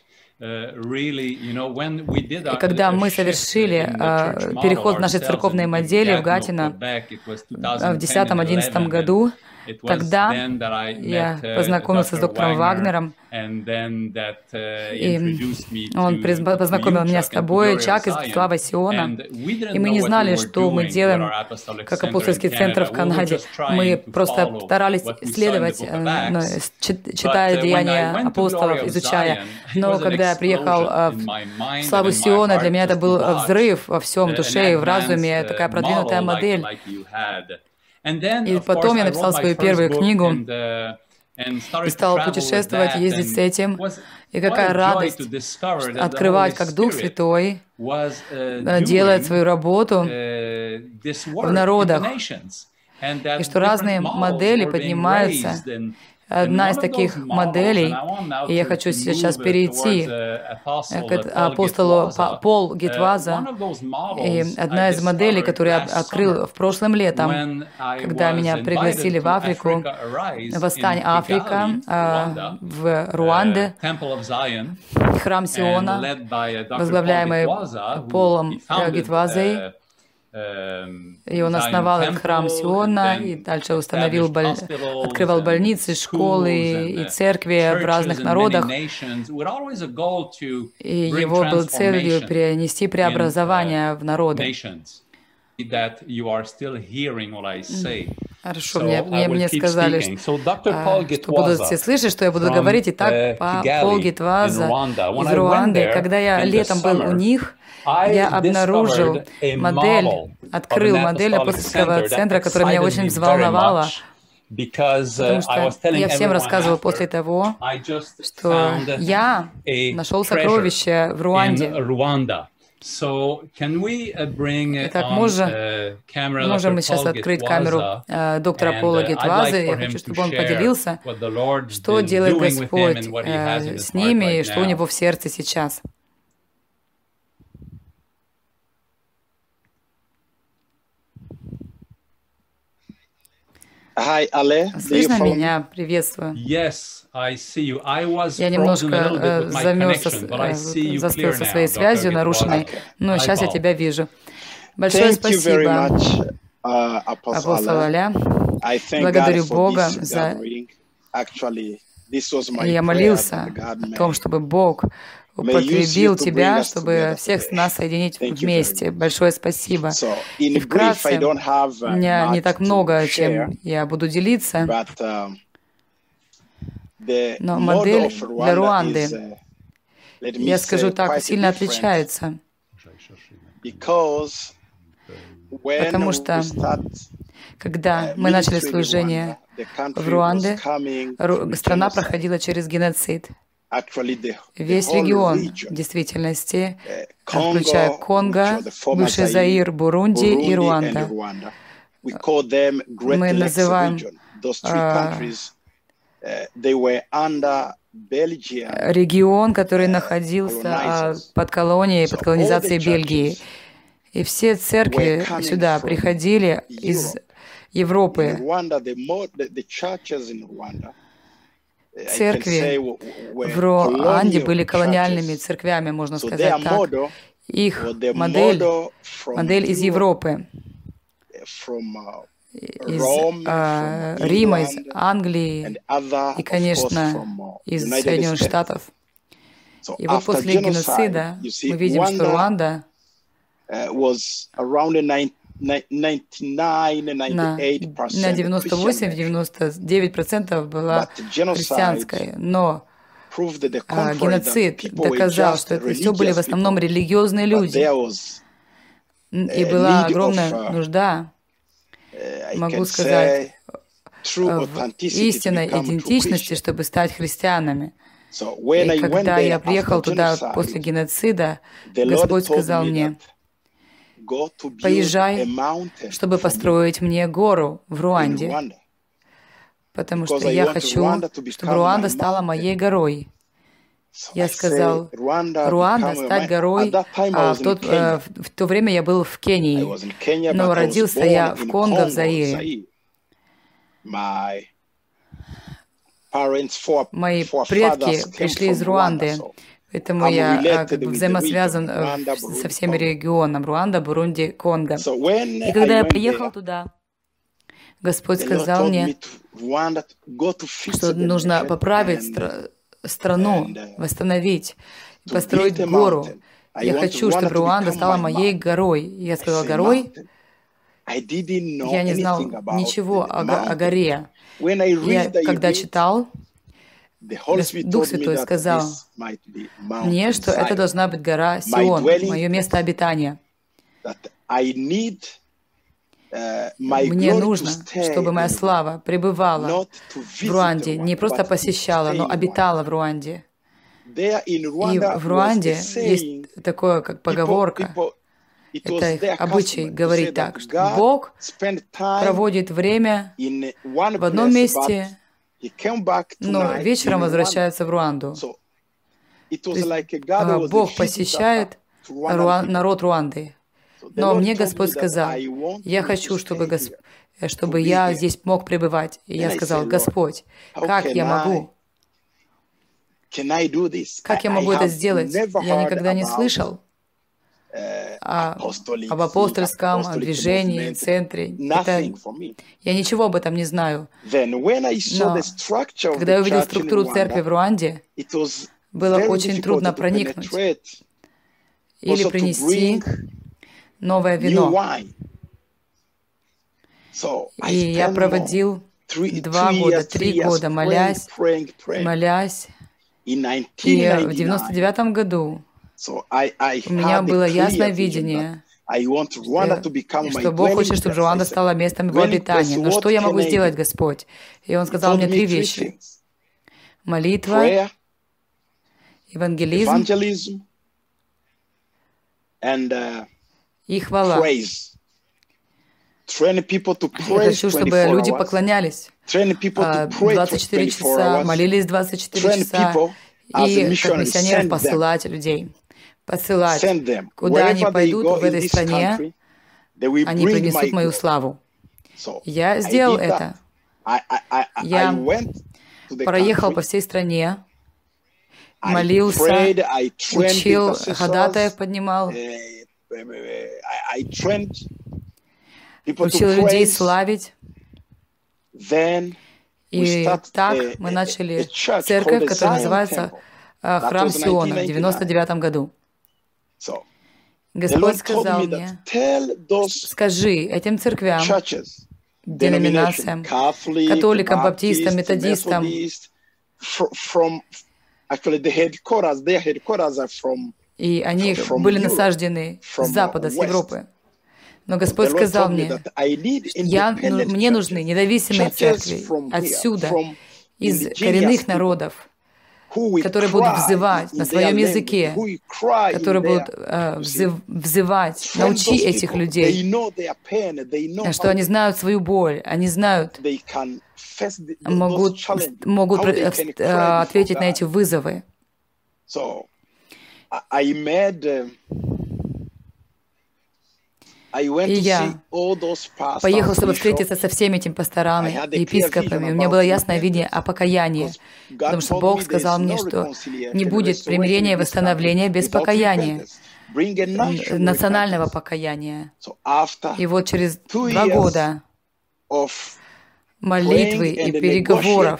И когда мы совершили uh, переход в нашей церковной модели в Гатино в десятом одиннадцатом году, тогда я познакомился с доктором Вагнером, и он познакомил меня с тобой, Чак, из Славы Сиона, и мы не знали, что мы делаем как апостольский центр в Канаде. Мы просто старались исследовать, читая деяния апостолов, изучая. Но когда я приехал в Славу Сиона, для меня это был взрыв во всем душе и в разуме, такая продвинутая модель. И потом я написал свою первую книгу и стал путешествовать, ездить с этим. И какая радость открывать, как Дух Святой делает свою работу в народах. И что разные модели поднимаются. Одна из таких моделей, и я хочу сейчас перейти к апостолу Пол Гитваза, и одна из моделей, которую я открыл в прошлом летом, когда меня пригласили в Африку, «Восстань Африка» в Руанде, храм Сиона, возглавляемый Полом Гитвазой. И он основал этот храм Сиона, и дальше установил, боль... открывал больницы, школы и церкви в разных народах. И его был целью перенести преобразование в народы. Хорошо, мне, мне, мне сказали, что, что будут все слышать, что я буду говорить. Итак, Пол Гитваза из Руанды, когда я летом был у них, я обнаружил модель, открыл модель апостольского центра, которая меня очень взволновала, потому что я всем рассказывал после того, что я нашел сокровище в Руанде. Итак, можем, можем мы сейчас открыть камеру э, доктора Пола Гитваза. Я хочу, чтобы он поделился, что делает Господь э, с ними и что у него в сердце сейчас. Hi, Ale. Слышно меня? Приветствую. Yes, I see you. I was я немножко э, замерз, э, застыл со своей связью нарушенной, но сейчас я тебя вижу. Большое спасибо, uh, апостол Аля. Благодарю Бога за... Я молился о том, чтобы Бог употребил тебя, чтобы всех нас соединить вместе. Большое спасибо. И вкратце, у меня не так много, чем я буду делиться, но модель для Руанды, я скажу так, сильно отличается. Потому что, когда мы начали служение в Руанде, страна проходила через геноцид. Весь регион, в действительности, включая Конго, бывший Заир, Бурунди и Руанда. Мы называем регион, который находился под колонией, под колонизацией Бельгии. И все церкви сюда приходили из Европы. Церкви в Руанде были колониальными церквями, можно сказать так. Их модель, модель из Европы, из э, Рима, из Англии и, конечно, из Соединенных Штатов. И вот после геноцида мы видим, что Руанда на девяносто восемь — девяносто девять процентов была христианской, но а, геноцид доказал, что это все были в основном религиозные люди, и была огромная нужда, могу сказать, в истинной идентичности, чтобы стать христианами. И когда я приехал туда после геноцида, Господь сказал мне: «Поезжай, чтобы построить мне гору в Руанде, потому что я хочу, чтобы Руанда стала моей горой». Я сказал: «Руанда стать горой», а в, тот, э, в то время я был в Кении, но родился я в Конго, в Заире. Мои предки пришли из Руанды, поэтому я как бы взаимосвязан со всеми регионами: Руанда, Бурунди, Конго. И когда я приехал туда, Господь сказал мне, что нужно поправить стра- страну, восстановить, построить гору. Я хочу, чтобы Руанда стала моей горой. Я сказал: горой? Я не знал ничего о, о горе. Я, когда читал, Дух Святой сказал мне, что это должна быть гора Сион, мое место обитания. Мне нужно, чтобы моя слава пребывала в Руанде, не просто посещала, но обитала в Руанде. И в Руанде есть такое, как поговорка. Это их обычай говорить так, что Бог проводит время в одном месте, но вечером возвращается в Руанду. То есть Бог посещает народ Руанды. Но мне Господь сказал: я хочу, чтобы, Госп... чтобы я здесь мог пребывать. И я сказал: Господь, как я могу? Как я могу это сделать? Я никогда не слышал о, об апостольском, о движении, центре. Это... Я ничего об этом не знаю. Но когда я увидел структуру церкви в Руанде, было очень трудно проникнуть или принести новое вино. И я проводил два года, три года, молясь, молясь. И в девяносто девятом году у меня было ясное видение, что Бог хочет, чтобы Руанда стала местом его обитания. Но что я могу сделать, Господь? И Он сказал мне три вещи: молитва, евангелизм и хвала. Я хочу, чтобы люди поклонялись двадцать четыре часа, молились двадцать четыре часа, и как миссионеров посылать людей. Посылать. Куда они пойдут в этой стране, они принесут мою славу. Я сделал это. Я проехал по всей стране, молился, учил, ходатаев поднимал, учил людей славить. И так мы начали церковь, которая называется Храм Сиона, в девяносто девятом году. Господь сказал мне: скажи этим церквям, деноминациям, католикам, баптистам, методистам, и они были насаждены с Запада, с Европы. Но Господь сказал мне: я, ну, мне нужны независимые церкви отсюда, из коренных народов, которые будут взывать на своем языке, которые будут э, взыв, взывать. Научи этих людей, что они знают свою боль, они знают, могут, могут э, ответить на эти вызовы. И я поехал, чтобы встретиться со всеми этими пасторами, епископами. У меня было ясное видение о покаянии, потому что Бог сказал мне, что не будет примирения и восстановления без покаяния, национального покаяния. И вот через два года молитвы и переговоров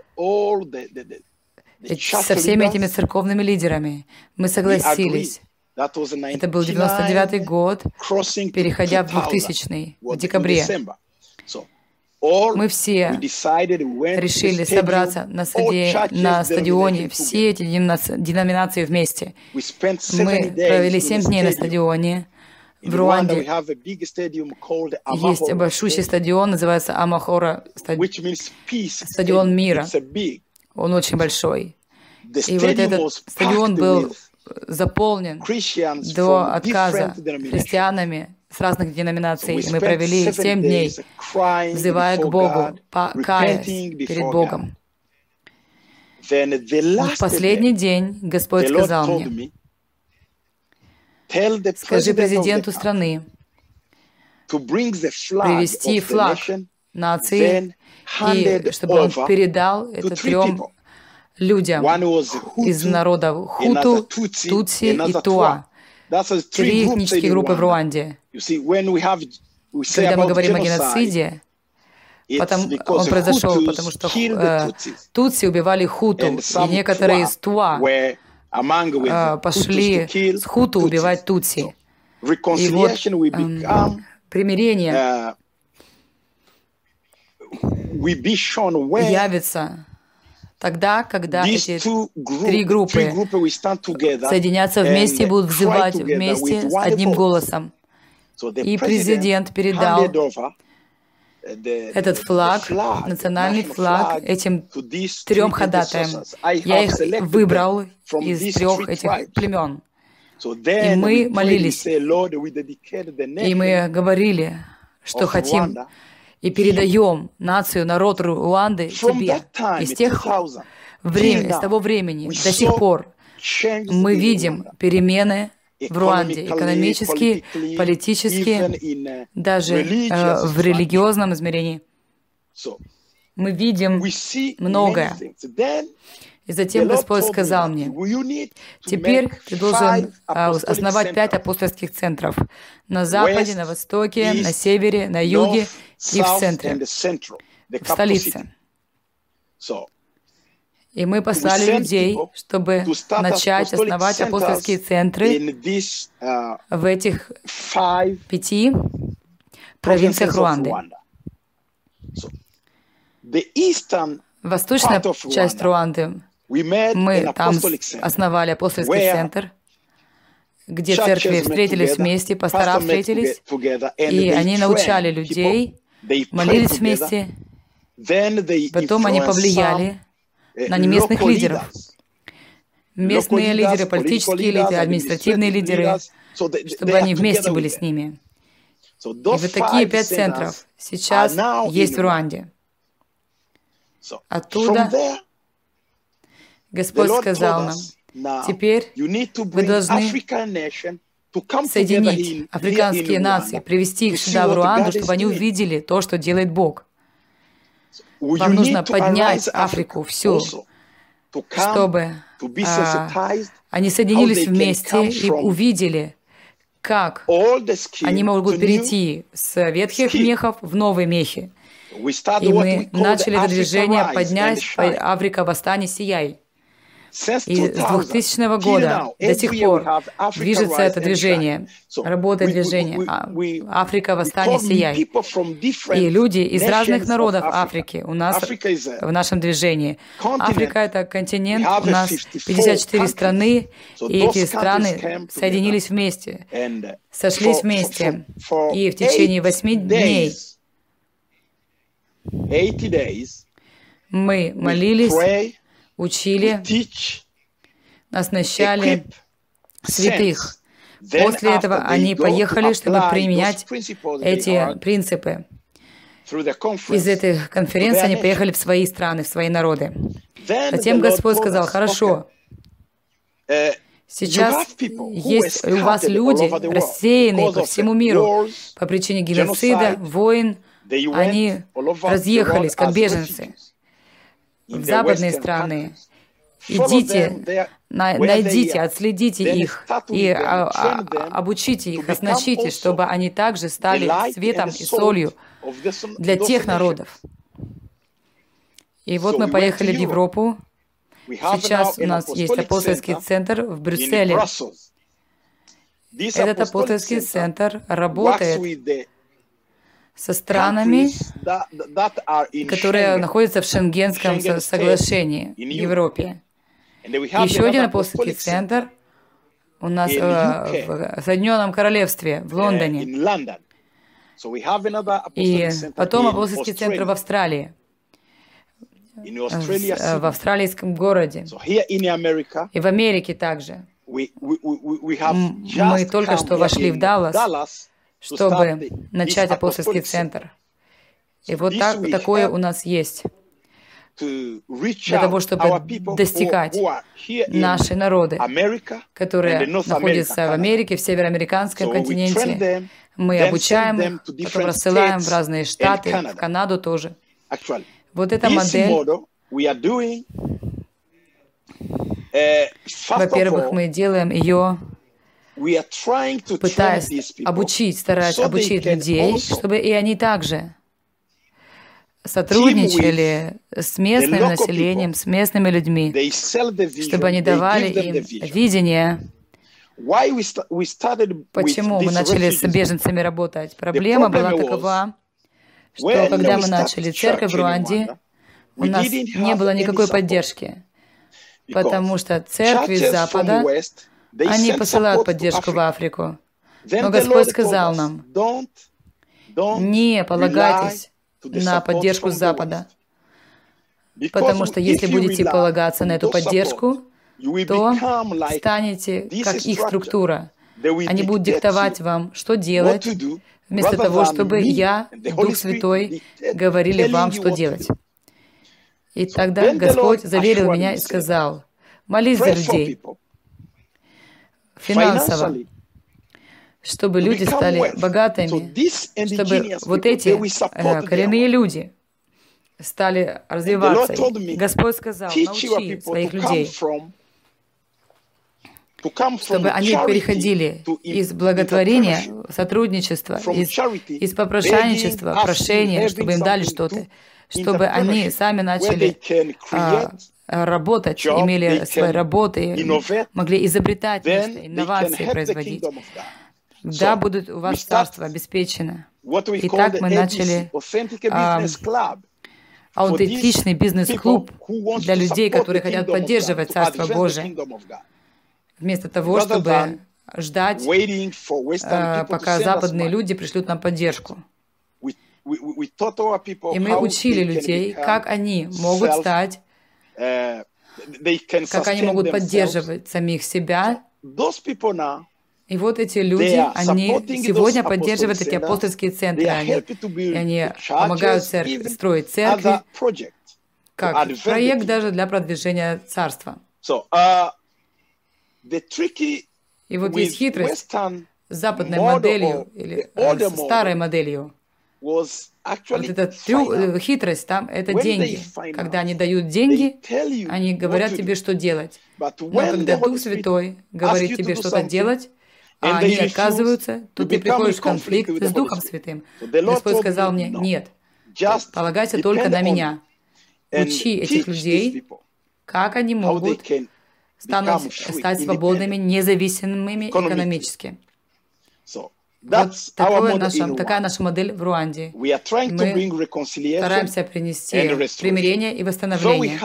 со всеми этими церковными лидерами мы согласились Это был девяносто девятый год, переходя в двухтысячный, в декабре. Мы все решили собраться на, стади... на стадионе, все эти деноминации вместе. Мы провели семь дней на стадионе. В Руанде есть большущий стадион, называется Амахора, стадион мира. Он очень большой. И вот этот стадион был заполнен до отказа христианами с разных деноминаций. Мы провели семь дней, взывая к Богу, каясь перед Богом. В последний день Господь сказал мне: скажи президенту страны привести флаг нации, и чтобы он передал это трем людям из народов Хуту, Тутси и Туа. Три этнические группы в Руанде. Когда мы говорим о геноциде, потом, он произошел, потому что э, Тутси убивали Хуту, и некоторые из Туа э, пошли с Хуту убивать Тутси. И вот э, примирение явится тогда, когда эти три группы соединятся вместе и будут взывать вместе с одним голосом. И президент передал этот флаг, национальный флаг, этим трем ходатаям. Я их выбрал из трех этих племен. И мы молились, и мы говорили, что хотим, и передаем нацию, народ Руанды тебе. И с тех времени, с того времени до сих пор мы видим перемены в Руанде, экономические, политические, даже э, в религиозном измерении. Мы видим многое. И затем Господь сказал мне: теперь ты должен основать пять апостольских центров на Западе, на Востоке, на Севере, на Юге и в центре, в столице. И мы послали людей, чтобы начать основать апостольские центры в этих пяти провинциях Руанды. Восточная часть Руанды, мы там основали апостольский центр, где церкви встретились вместе, пастора встретились, и они научали людей, молились вместе. Потом они повлияли на неместных лидеров. Местные лидеры, политические лидеры, административные лидеры, чтобы они вместе были с ними. И вот такие пять центров сейчас есть в Руанде. Оттуда Господь сказал нам: теперь вы должны соединить африканские нации, привести их сюда, в Руанду, чтобы они увидели то, что делает Бог. Вам нужно поднять Африку всю, чтобы а, они соединились вместе и увидели, как они могут перейти с ветхих мехов в новые мехи. И мы начали это движение «Поднять Африка, восстань, сияй». И с двухтысячного года до сих пор движется это движение, работает движение «Африка, восстань, сияй». И люди из разных народов Африки у нас в нашем движении. Африка — это континент, у нас пятьдесят четыре страны, и эти страны соединились вместе, сошлись вместе. И в течение восьми дней мы молились, учили, оснащали святых. После этого они поехали, чтобы применять эти принципы. Из этой конференции они поехали в свои страны, в свои народы. Затем Господь сказал: хорошо, сейчас есть у вас люди, рассеянные по всему миру по причине геноцида, войн. Они разъехались, как беженцы, в западные страны. Идите, найдите, отследите их и а, а, обучите их, оснащите, чтобы они также стали светом и солью для тех народов. И вот мы поехали в Европу. Сейчас у нас есть апостольский центр в Брюсселе. Этот апостольский центр работает со странами, которые находятся в Шенгенском соглашении в Европе. Еще один апостольский центр у нас э, в Соединенном Королевстве, в Лондоне. И потом апостольский центр в Австралии, в, в австралийском городе. И в Америке также. Мы только что вошли в Даллас, чтобы начать апостольский центр. И вот так, такое у нас есть. Для того, чтобы достигать наши народы, которые находятся в Америке, в североамериканском континенте. Мы обучаем их, потом рассылаем в разные штаты, в Канаду тоже. Вот эта модель, во-первых, мы делаем ее, пытаясь обучить, стараясь обучить людей, чтобы и они также сотрудничали с местным населением, с местными людьми, чтобы они давали им видение. Почему мы начали с беженцами работать? Проблема была такова, что когда мы начали церковь в Руанде, у нас не было никакой поддержки, потому что церкви с Запада, они посылают поддержку в Африку. Но Господь сказал нам, не полагайтесь на поддержку с Запада, потому что если будете полагаться на эту поддержку, то станете как их структура. Они будут диктовать вам, что делать, вместо того, чтобы я, Дух Святой, говорили вам, что делать. И тогда Господь заверил меня и сказал, молись за людей финансово, чтобы люди стали богатыми, чтобы вот эти э, коренные люди стали развиваться. И Господь сказал, научи своих людей, чтобы они переходили из благотворения, сотрудничества, из, из попрошайничества, прошения, чтобы им дали что-то, чтобы они сами начали а, работать, имели свои работы, могли изобретать нечто, инновации производить. Да, будет у вас царство обеспечено. И так мы начали а, аутентичный бизнес-клуб для людей, которые хотят поддерживать Царство Божие, вместо того, чтобы ждать, а, пока западные люди пришлют нам поддержку. И мы учили людей, как они могут стать, как они могут поддерживать самих себя. И вот эти люди, они сегодня поддерживают эти апостольские центры, они, и они помогают церкви, строить церкви, как проект даже для продвижения царства. И вот есть хитрость с западной моделью, или э, с старой моделью. Вот эта трю... хитрость там — это деньги. Когда они дают деньги, они говорят тебе, что делать. Но когда Дух Святой говорит тебе что-то делать, а они отказываются, то ты приходишь в конфликт с Духом Святым. Господь сказал мне, нет, полагайся только на меня. Учи этих людей, как они могут станут, стать свободными, независимыми экономически. Вот такое наша, такая наша модель в Руанде. Мы стараемся принести примирение и восстановление.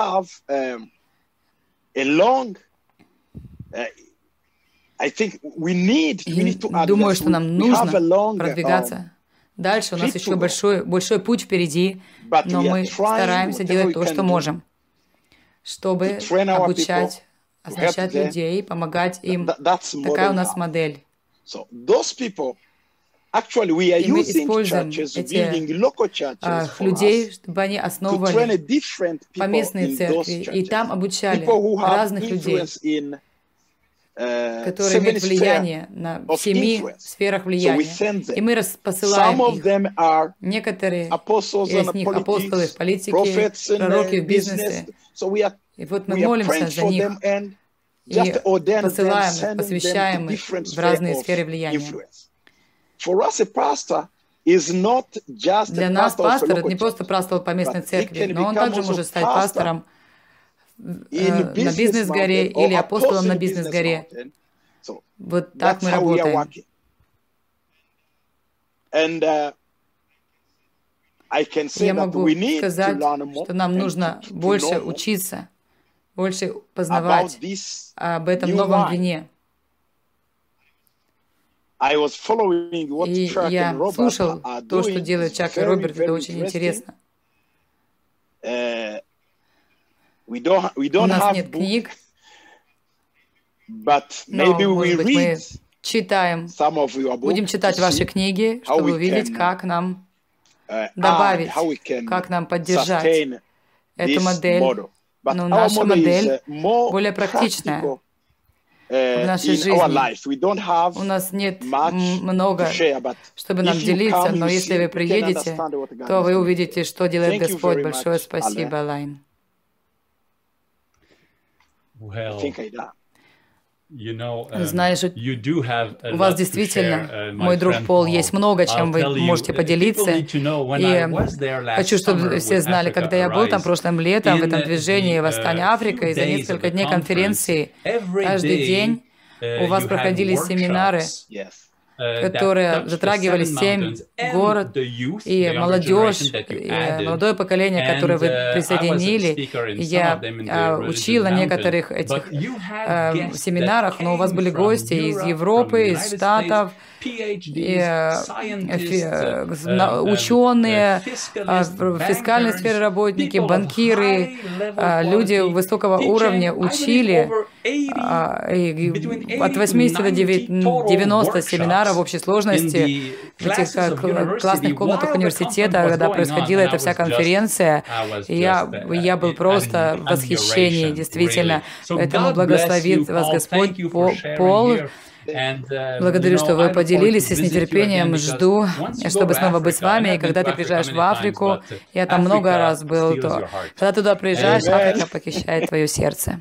И думаю, что нам нужно продвигаться дальше. У нас еще большой, большой путь впереди, но мы стараемся делать то, что можем, чтобы обучать, оснащать людей, помогать им. Такая у нас модель. И мы используем этих а, людей, чтобы они основывали поместные церкви, и там обучали разных людей, которые имеют влияние на в семи сферах влияния. И мы посылаем их. Некоторые из них апостолы в политике, пророки в бизнесе. И вот мы молимся за них и посылаем, посвящаем их в разные сферы влияния. Для нас пастор — это не просто пастор по местной церкви, но он также может стать пастором э, на бизнес-горе или апостолом на бизнес-горе. Вот так мы работаем. Я могу сказать, что нам нужно больше учиться, больше познавать об этом новом вине. И я слушал то, что делает Чак и Роберт, это очень интересно. У нас нет книг, но, может быть, мы читаем, будем читать ваши книги, чтобы увидеть, как нам добавить, как нам поддержать эту модель. Но наша модель более практичная в нашей жизни. У нас нет много, чтобы нам делиться, но если вы приедете, то вы увидите, что делает Господь. Большое спасибо, Лайн. Знаешь, у вас действительно, мой друг Пол, есть много, чем вы можете поделиться. И хочу, чтобы все знали, когда я был там прошлым летом, в этом движении «Восстание Африка», и за несколько дней конференции, каждый день у вас проходили семинары, которые затрагивали семь город и молодежь, и молодое поколение, которое вы присоединили. Я учила некоторых этих э, семинарах, но у вас были гости из Европы, из Штатов, и, э, ученые, в фискальной сфере работники, банкиры, люди высокого уровня учили. И от восьмидесяти до девяноста семинаров в общей сложности в этих классных комнатах университета, когда происходила эта вся конференция, я, я был просто в восхищении, действительно. Поэтому благословит вас Господь, Пол. Благодарю, что вы поделились, и с нетерпением жду, чтобы снова быть с вами. И когда ты приезжаешь в Африку, я там много раз был, то когда туда приезжаешь, Африка похищает твое сердце.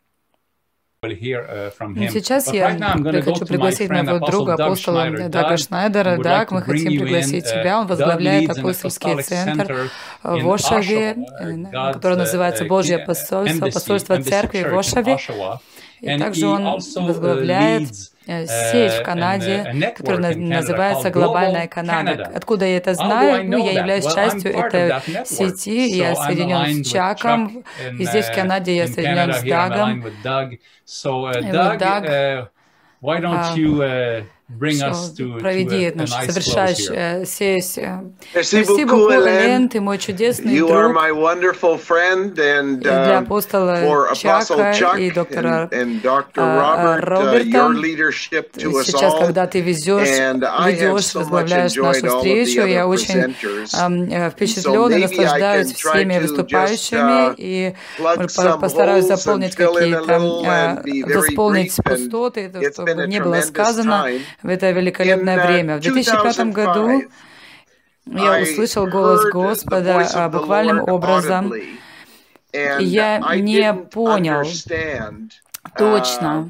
Сейчас я хочу пригласить моего друга, апостола Дага Шнайдера. Даг, мы хотим пригласить тебя. Он возглавляет апостольский центр в Ошаве, который называется Божье посольство, посольство церкви в Ошаве. И также он возглавляет сеть в Канаде, которая называется «Глобальная Канада». Откуда я это знаю? Ну, я являюсь частью этой сети, я соединен с Чаком, и здесь, в Канаде, я соединен с Дагом. И вот Даг, проведи нашу совершающую сессию. Merci beaucoup, Элен, ты мой чудесный друг. Для апостола Чака и доктора Роберта, сейчас, когда ты везешь, ведешь, возглавляешь нашу встречу, я очень впечатлен и наслаждаюсь всеми выступающими, и постараюсь заполнить какие-то, восполнить пустоты, чтобы не было сказано в это великолепное время. В две тысячи пятом году я услышал голос Господа буквальным образом, и я не понял точно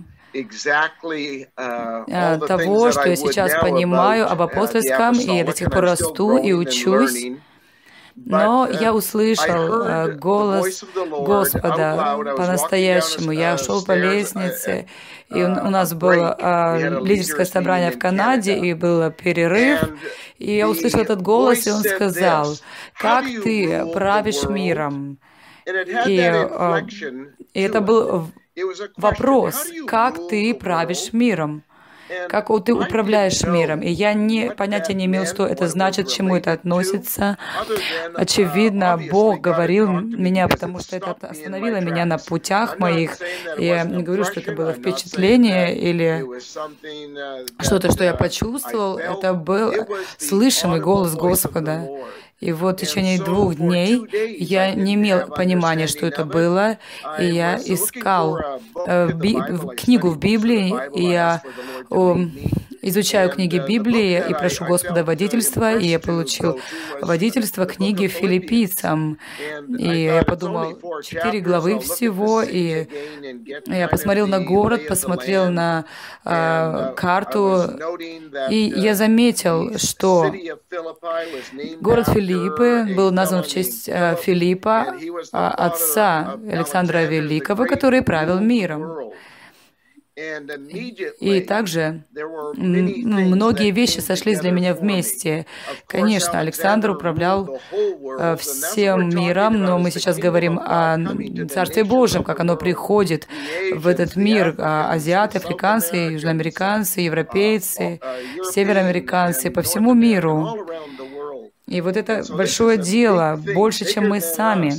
того, что я сейчас понимаю об апостольском, и я до сих пор расту и учусь. Но я услышал голос Господа по-настоящему. Я шел по лестнице, и у нас было лидерское собрание в Канаде, и был перерыв. И я услышал этот голос, и он сказал: «Как ты правишь миром?» И, и это был вопрос: «Как ты правишь миром?» Как ты управляешь миром. И я не, понятия не имел, что это значит, к чему это относится. Очевидно, Бог говорил меня, потому что это остановило меня на путях моих. Я не говорю, что это было впечатление или что-то, что я почувствовал. Это был слышимый голос Господа. И вот в течение двух дней я не имел понимания, что это было, и я искал э, би, книгу в Библии, и я э, изучаю книги Библии и прошу Господа водительства, и я получил водительство книги филиппийцам. И я подумал, четыре главы всего, и я посмотрел на город, посмотрел на э, карту, и я заметил, что город Филиппы был назван в честь э, Филиппа, э, отца Александра Великого, который правил миром. И также ну, многие вещи сошлись для меня вместе. Конечно, Александр управлял э, всем миром, но мы сейчас говорим о Царстве Божьем, как оно приходит в этот мир. А азиаты, африканцы, южноамериканцы, европейцы, североамериканцы по всему миру. И вот это большое дело, больше, чем мы сами.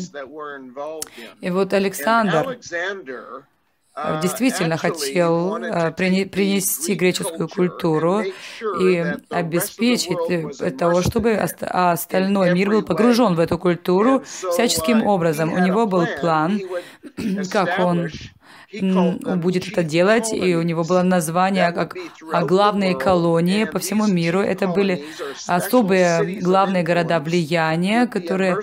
И вот Александр действительно хотел принести греческую культуру и обеспечить того, чтобы остальной мир был погружен в эту культуру всяческим образом. У него был план, как он будет это делать, и у него было название как главные колонии по всему миру. Это были особые главные города влияния, которые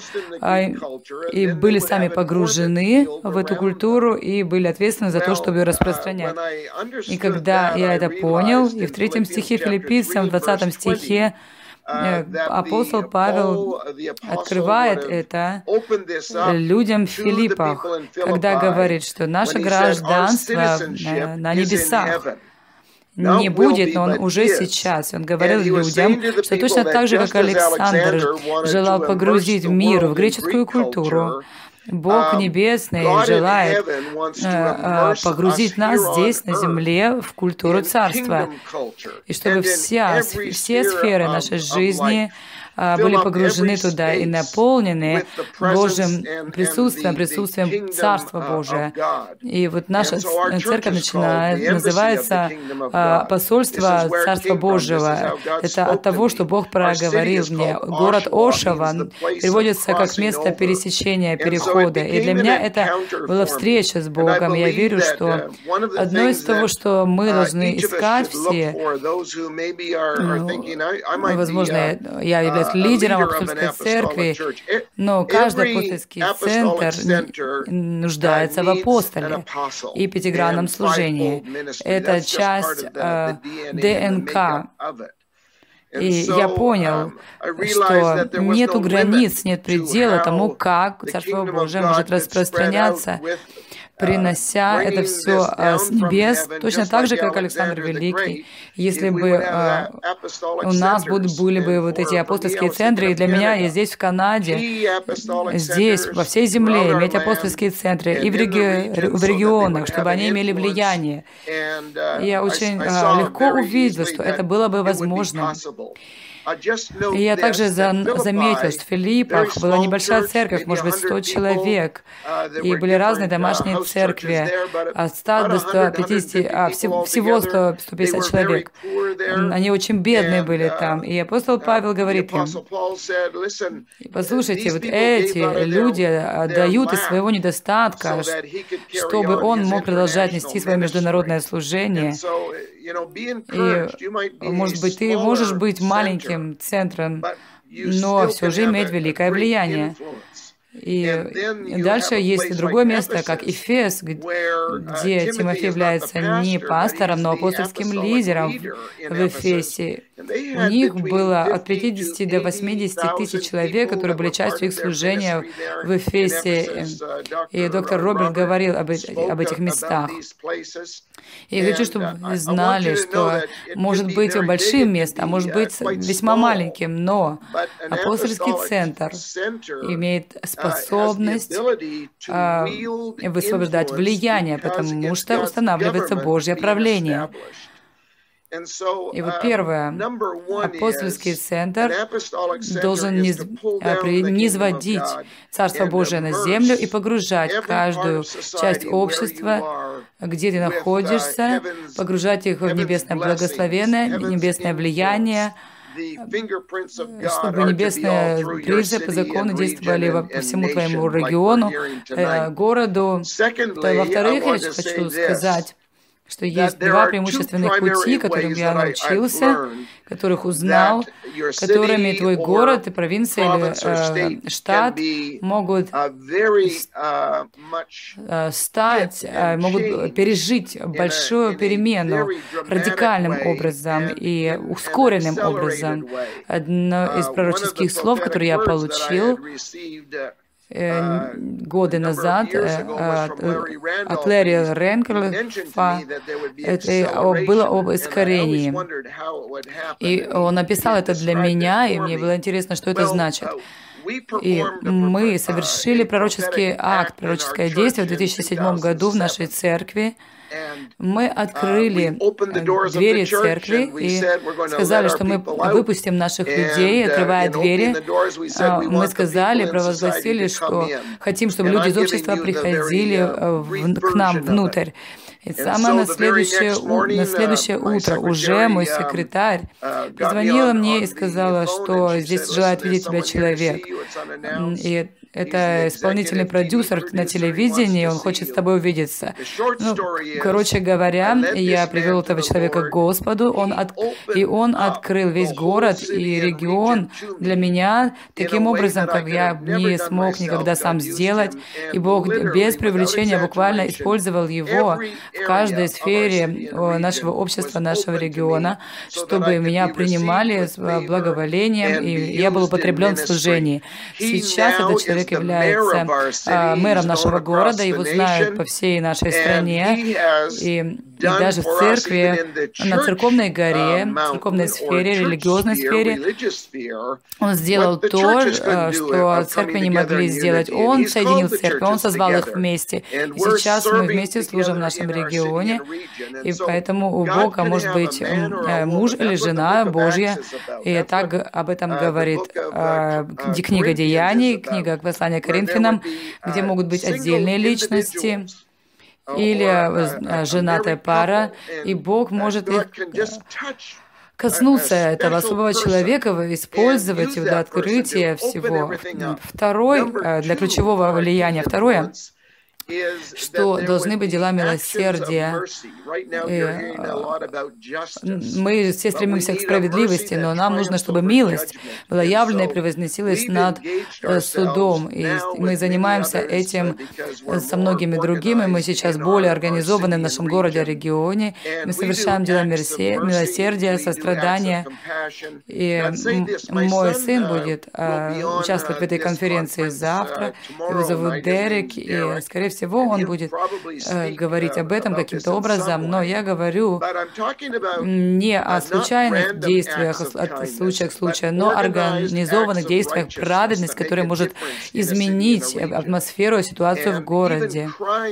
и были сами погружены в эту культуру и были ответственны за то, чтобы ее распространять. И когда я это понял, и в третьем стихе Филиппийцам, в двадцатом стихе, апостол Павел открывает это людям в Филиппах, когда говорит, что наше гражданство на небесах не будет, но он уже сейчас. Он говорил людям, что точно так же, как Александр желал погрузить мир в греческую культуру, Бог Небесный желает э, погрузить нас здесь, на земле, в культуру Царства, и чтобы вся, все сферы нашей жизни были погружены туда и наполнены Божьим присутствием, присутствием Царства Божия. И вот наша церковь начинает, называется посольство Царства Божьего. Это от того, что Бог проговорил мне. Город Ошава переводится как место пересечения, перехода. И для меня это была встреча с Богом. Я верю, что одно из того, что мы должны искать все, ну, возможно, я являюсь лидером апостольской церкви, но каждый апостольский центр нуждается в апостоле и пятигранном служении. Это часть э, ДНК. И я понял, что нету границ, нет предела тому, как Царство Божие может распространяться, принося это все с небес, точно так же, как Александр Великий. Если бы э, у нас были бы вот эти апостольские центры, и для меня, я здесь, в Канаде, здесь, во всей земле, иметь апостольские центры и в, реги в регионах, чтобы они имели влияние. И я очень э, легко увидел, что это было бы возможно. И я также за, заметил, что в Филиппах была небольшая церковь, может быть, сто человек, и были разные домашние церкви, от ста до ста пятидесяти, а, всего, всего сто пятьдесят человек. Они очень бедные были там. И апостол Павел говорит им: послушайте, вот эти люди дают из своего недостатка, чтобы он мог продолжать нести свое международное служение. И, может быть, ты можешь быть маленьким центром, но все же иметь великое влияние. И дальше есть и другое место, как Эфес, где Тимофей является не пастором, но апостольским лидером в Эфесе. У них было от пятидесяти до восьмидесяти тысяч человек, которые были частью их служения в Эфесе. И доктор Роберт говорил об, об этих местах. И я хочу, чтобы вы знали, что может быть большим местом, а может быть весьма маленьким, но апостольский центр имеет способность а, высвобождать влияние, потому что устанавливается Божье правление. И вот первое, апостольский центр должен низ, низводить Царство Божие на землю и погружать каждую часть общества, где ты находишься, погружать их в небесное благословение, небесное влияние, чтобы небесные принципы, законы действовали по всему твоему региону, э, городу. Во-вторых, я хочу сказать, что есть два преимущественных пути, которым я научился, которых узнал, которыми твой город, и провинция или э, штат могут э, стать, э, могут пережить большую перемену радикальным образом и ускоренным образом. Одно из пророческих слов, которые я получил, годы назад от Ларри Ренкельфа это было об искорении. И он написал это для меня, и мне было интересно, что это значит. И мы совершили пророческий акт, пророческое действие в две тысячи седьмом году в нашей церкви. Мы открыли двери церкви и сказали, что мы выпустим наших людей, открывая двери. Мы сказали, провозгласили, что хотим, чтобы люди из общества приходили к нам внутрь. И самое на следующее, на следующее утро уже мой секретарь позвонила мне и сказала, что здесь желает видеть тебя человек. И это исполнительный продюсер на телевидении, он хочет с тобой увидеться. Ну, короче говоря, я привел этого человека к Господу, он от... и он открыл весь город и регион для меня таким образом, как я не смог никогда сам сделать. И Бог без привлечения буквально использовал его в каждой сфере нашего общества, нашего региона, чтобы меня принимали с благоволением, и я был употреблен в служении. Сейчас этот человек является а, мэром нашего города, его знают по всей нашей стране, и, и даже в церкви, на церковной горе, в церковной сфере, религиозной сфере, он сделал то, что церкви не могли сделать. Он соединил церкви, он созвал их вместе. И сейчас мы вместе служим в нашем регионе, и поэтому у Бога может быть муж или жена Божья, и так об этом говорит книга Деяний, книга Послания к Коринфянам, где могут быть отдельные личности или женатая пара, и Бог может их коснуться этого особого человека, использовать его для открытия всего. Второй, для ключевого влияния, второе, что должны быть дела милосердия. И мы все стремимся к справедливости, но нам нужно, чтобы милость была явлена и превозносилась над судом. И мы занимаемся этим со многими другими. Мы сейчас более организованы в нашем городе, регионе. Мы совершаем дела милосердия, сострадания. И мой сын будет участвовать в этой конференции завтра. Его зовут Дерек, и, скорее всего, он будет э, говорить об этом каким-то образом, но я говорю не о случайных действиях, от случая к случаю, но о организованных действиях, праведность, которая может изменить атмосферу, ситуацию в городе.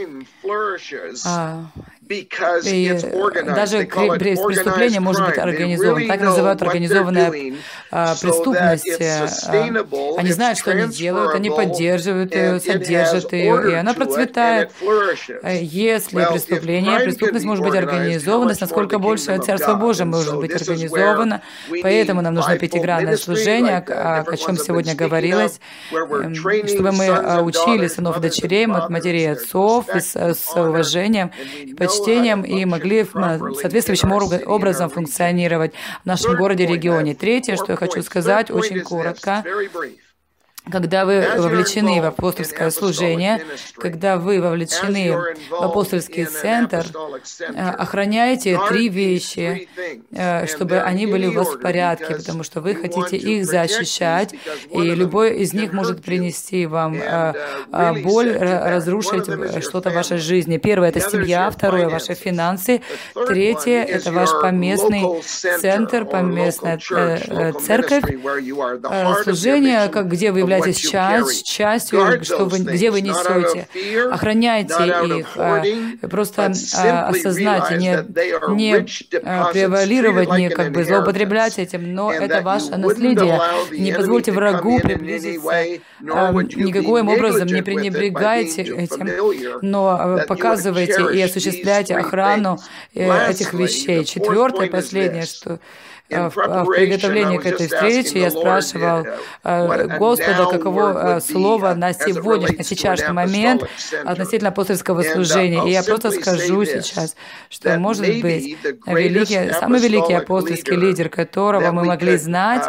А, и даже преступление может быть организовано. Так называют организованная а, преступность. А, они знают, что они делают, они поддерживают ее, содержат ее, и она процветает. Если преступление, преступность может быть организована, насколько больше Царство Божие может быть организовано. Поэтому нам нужно пятигранное служение, о, о чем сегодня говорилось, чтобы мы учили сынов и дочерей, матерей и отцов с, с уважением и почтением, и могли соответствующим образом функционировать в нашем городе, регионе. Третье, что я хочу сказать, очень коротко. Когда вы вовлечены в апостольское служение, когда вы вовлечены в апостольский центр, охраняйте три вещи, чтобы они были у вас в порядке, потому что вы хотите их защищать, и любой из них может принести вам боль, разрушить что-то в вашей жизни. Первое — это семья, второе — ваши финансы, третье — это ваш поместный центр, поместная церковь, служение, как где вы являетесь часть, частью, что вы, где вы несете. Охраняйте их, просто осознайте, не, не превалировать, не как бы злоупотреблять этим, но это ваше наследие. Не позвольте врагу приблизиться, никаким образом не пренебрегайте этим, но показывайте и осуществляйте охрану этих вещей. Четвертое, последнее, что В, в приготовлении к этой встрече я спрашивал Господа, каково слово на сегодняшний, сейчасшний момент относительно апостольского служения. И я просто скажу сейчас, что, может быть, великий, самый великий апостольский лидер, которого мы могли знать,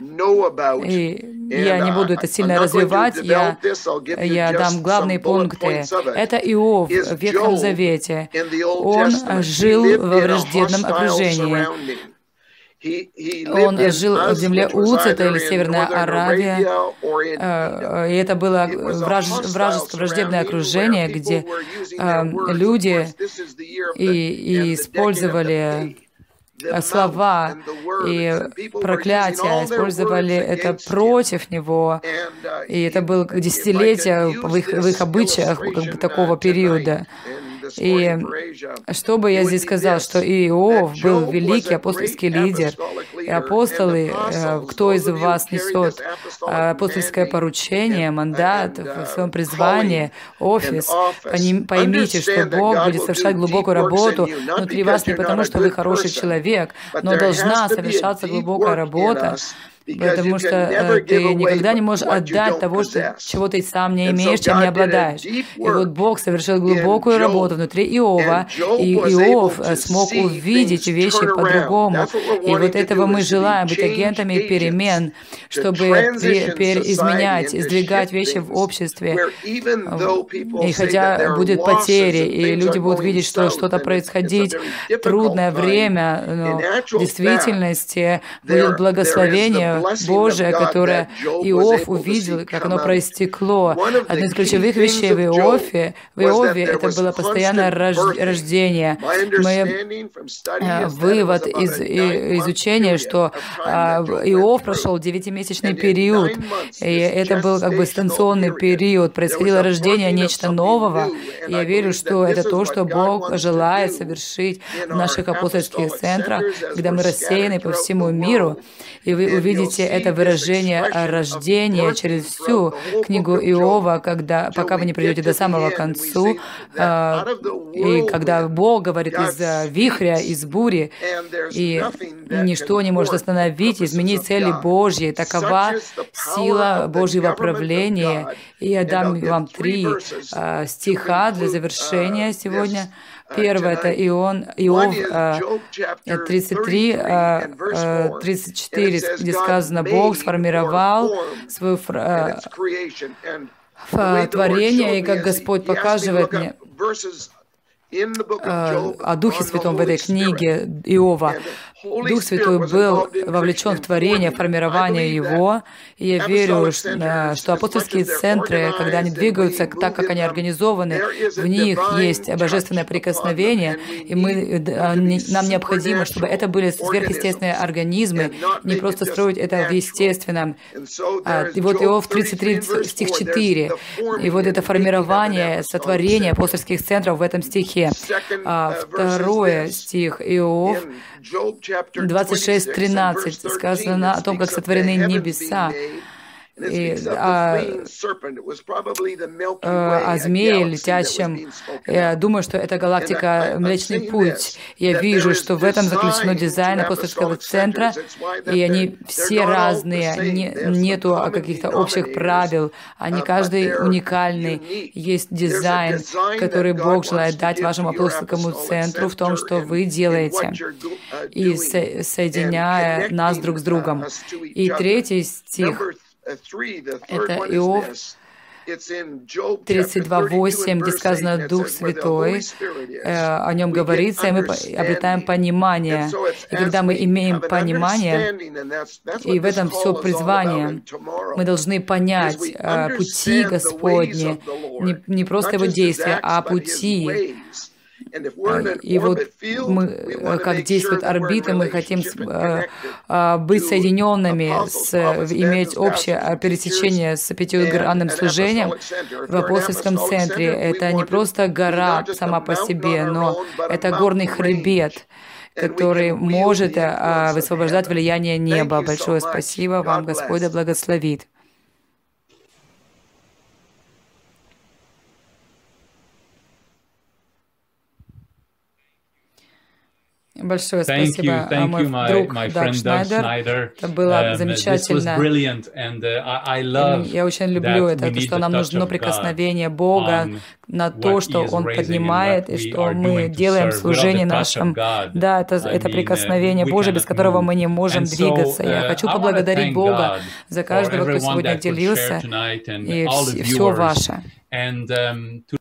и я не буду это сильно развивать, я, я дам главные пункты. Это Иов в Ветхом Завете. Он жил во враждебном окружении. Он жил в земле Уц, это или Северная Аравия, и это было вражеское, враждебное окружение, где люди и использовали слова и проклятия, использовали это против него, и это было десятилетия в их, в их обычаях как бы, такого периода. И что бы я здесь сказал, что Иов был великий апостольский лидер, и апостолы, кто из вас несет апостольское поручение, мандат в своем призвании, офис, поймите, что Бог будет совершать глубокую работу внутри вас не потому, что вы хороший человек, но должна совершаться глубокая работа, потому что ты никогда не можешь отдать того, что, чего ты сам не имеешь, чем не обладаешь. И вот Бог совершил глубокую работу внутри Иова, и Иов смог увидеть вещи по-другому. И вот этого мы желаем, быть агентами перемен, чтобы изменять, сдвигать вещи в обществе. И хотя будет потери, и люди будут видеть, что что-то происходит, трудное время, но в действительности будет благословение Божие, которое Иов увидел, как оно проистекло. Одно из ключевых вещей в Иове, в Иове это было постоянное рождение. Мы, вывод из изучения, что Иов прошел девятимесячный период, и это был как бы станционный период, происходило рождение нечто нового. И я верю, что это то, что Бог желает совершить в наших апостольских центрах, когда мы рассеяны по всему миру, и вы увидите это выражение рождения через всю книгу Иова, когда, пока вы не придете до самого конца, и когда Бог говорит из вихря, из бури, и ничто не может остановить, изменить цели Божьи. Такова сила Божьего правления. И я дам вам три стиха для завершения сегодня. Первое — это Ион, Иов тридцать три, тридцать четыре, где сказано, Бог сформировал свое творение, и как Господь показывает мне о Духе Святом в этой книге Иова. Дух Святой был вовлечен в творение, формирование его, и я верю, что, что апостольские центры, когда они двигаются так, как они организованы, в них есть божественное прикосновение, и мы, нам необходимо, чтобы это были сверхъестественные организмы, не просто строить это в естественном. И вот Иов тридцать три, стих четыре, и вот это формирование, сотворение апостольских центров в этом стихе. Второе стих Иов двадцать шесть тринадцать сказано о том, как сотворены небеса. И, а, о змее летящем. Я думаю, что это галактика Млечный Путь. Я вижу, что в этом заключено дизайн апостольского центра, и они все разные, не, нету каких-то общих правил, они каждый уникальный. Есть дизайн, который Бог желает дать вашему апостольскому центру в том, что вы делаете, и со соединяя нас друг с другом. И третий стих. Это Иов тридцать два восемь, где сказано «Дух Святой», о нем говорится, и мы обретаем понимание. И когда мы имеем понимание, и в этом все призвание, мы должны понять пути Господни, не, не просто Его действия, а пути. И вот мы, как действуют орбиты, мы хотим быть соединенными, с, иметь общее пересечение с пятигранным служением в апостольском центре. Это не просто гора сама по себе, но это горный хребет, который может высвобождать влияние неба. Большое спасибо вам, Господь да благословит. Большое спасибо, thank you, thank мой you, my, друг my Даг Шнайдер. Это было um, замечательно. And, uh, I love Я очень люблю это, то, что нам нужно прикосновение Бога на то, что Он поднимает, и что мы делаем в служении нашем. Да, это, это прикосновение Божие, без которого мы не можем двигаться. Я хочу поблагодарить Бога за каждого, кто сегодня делился, и все ваше.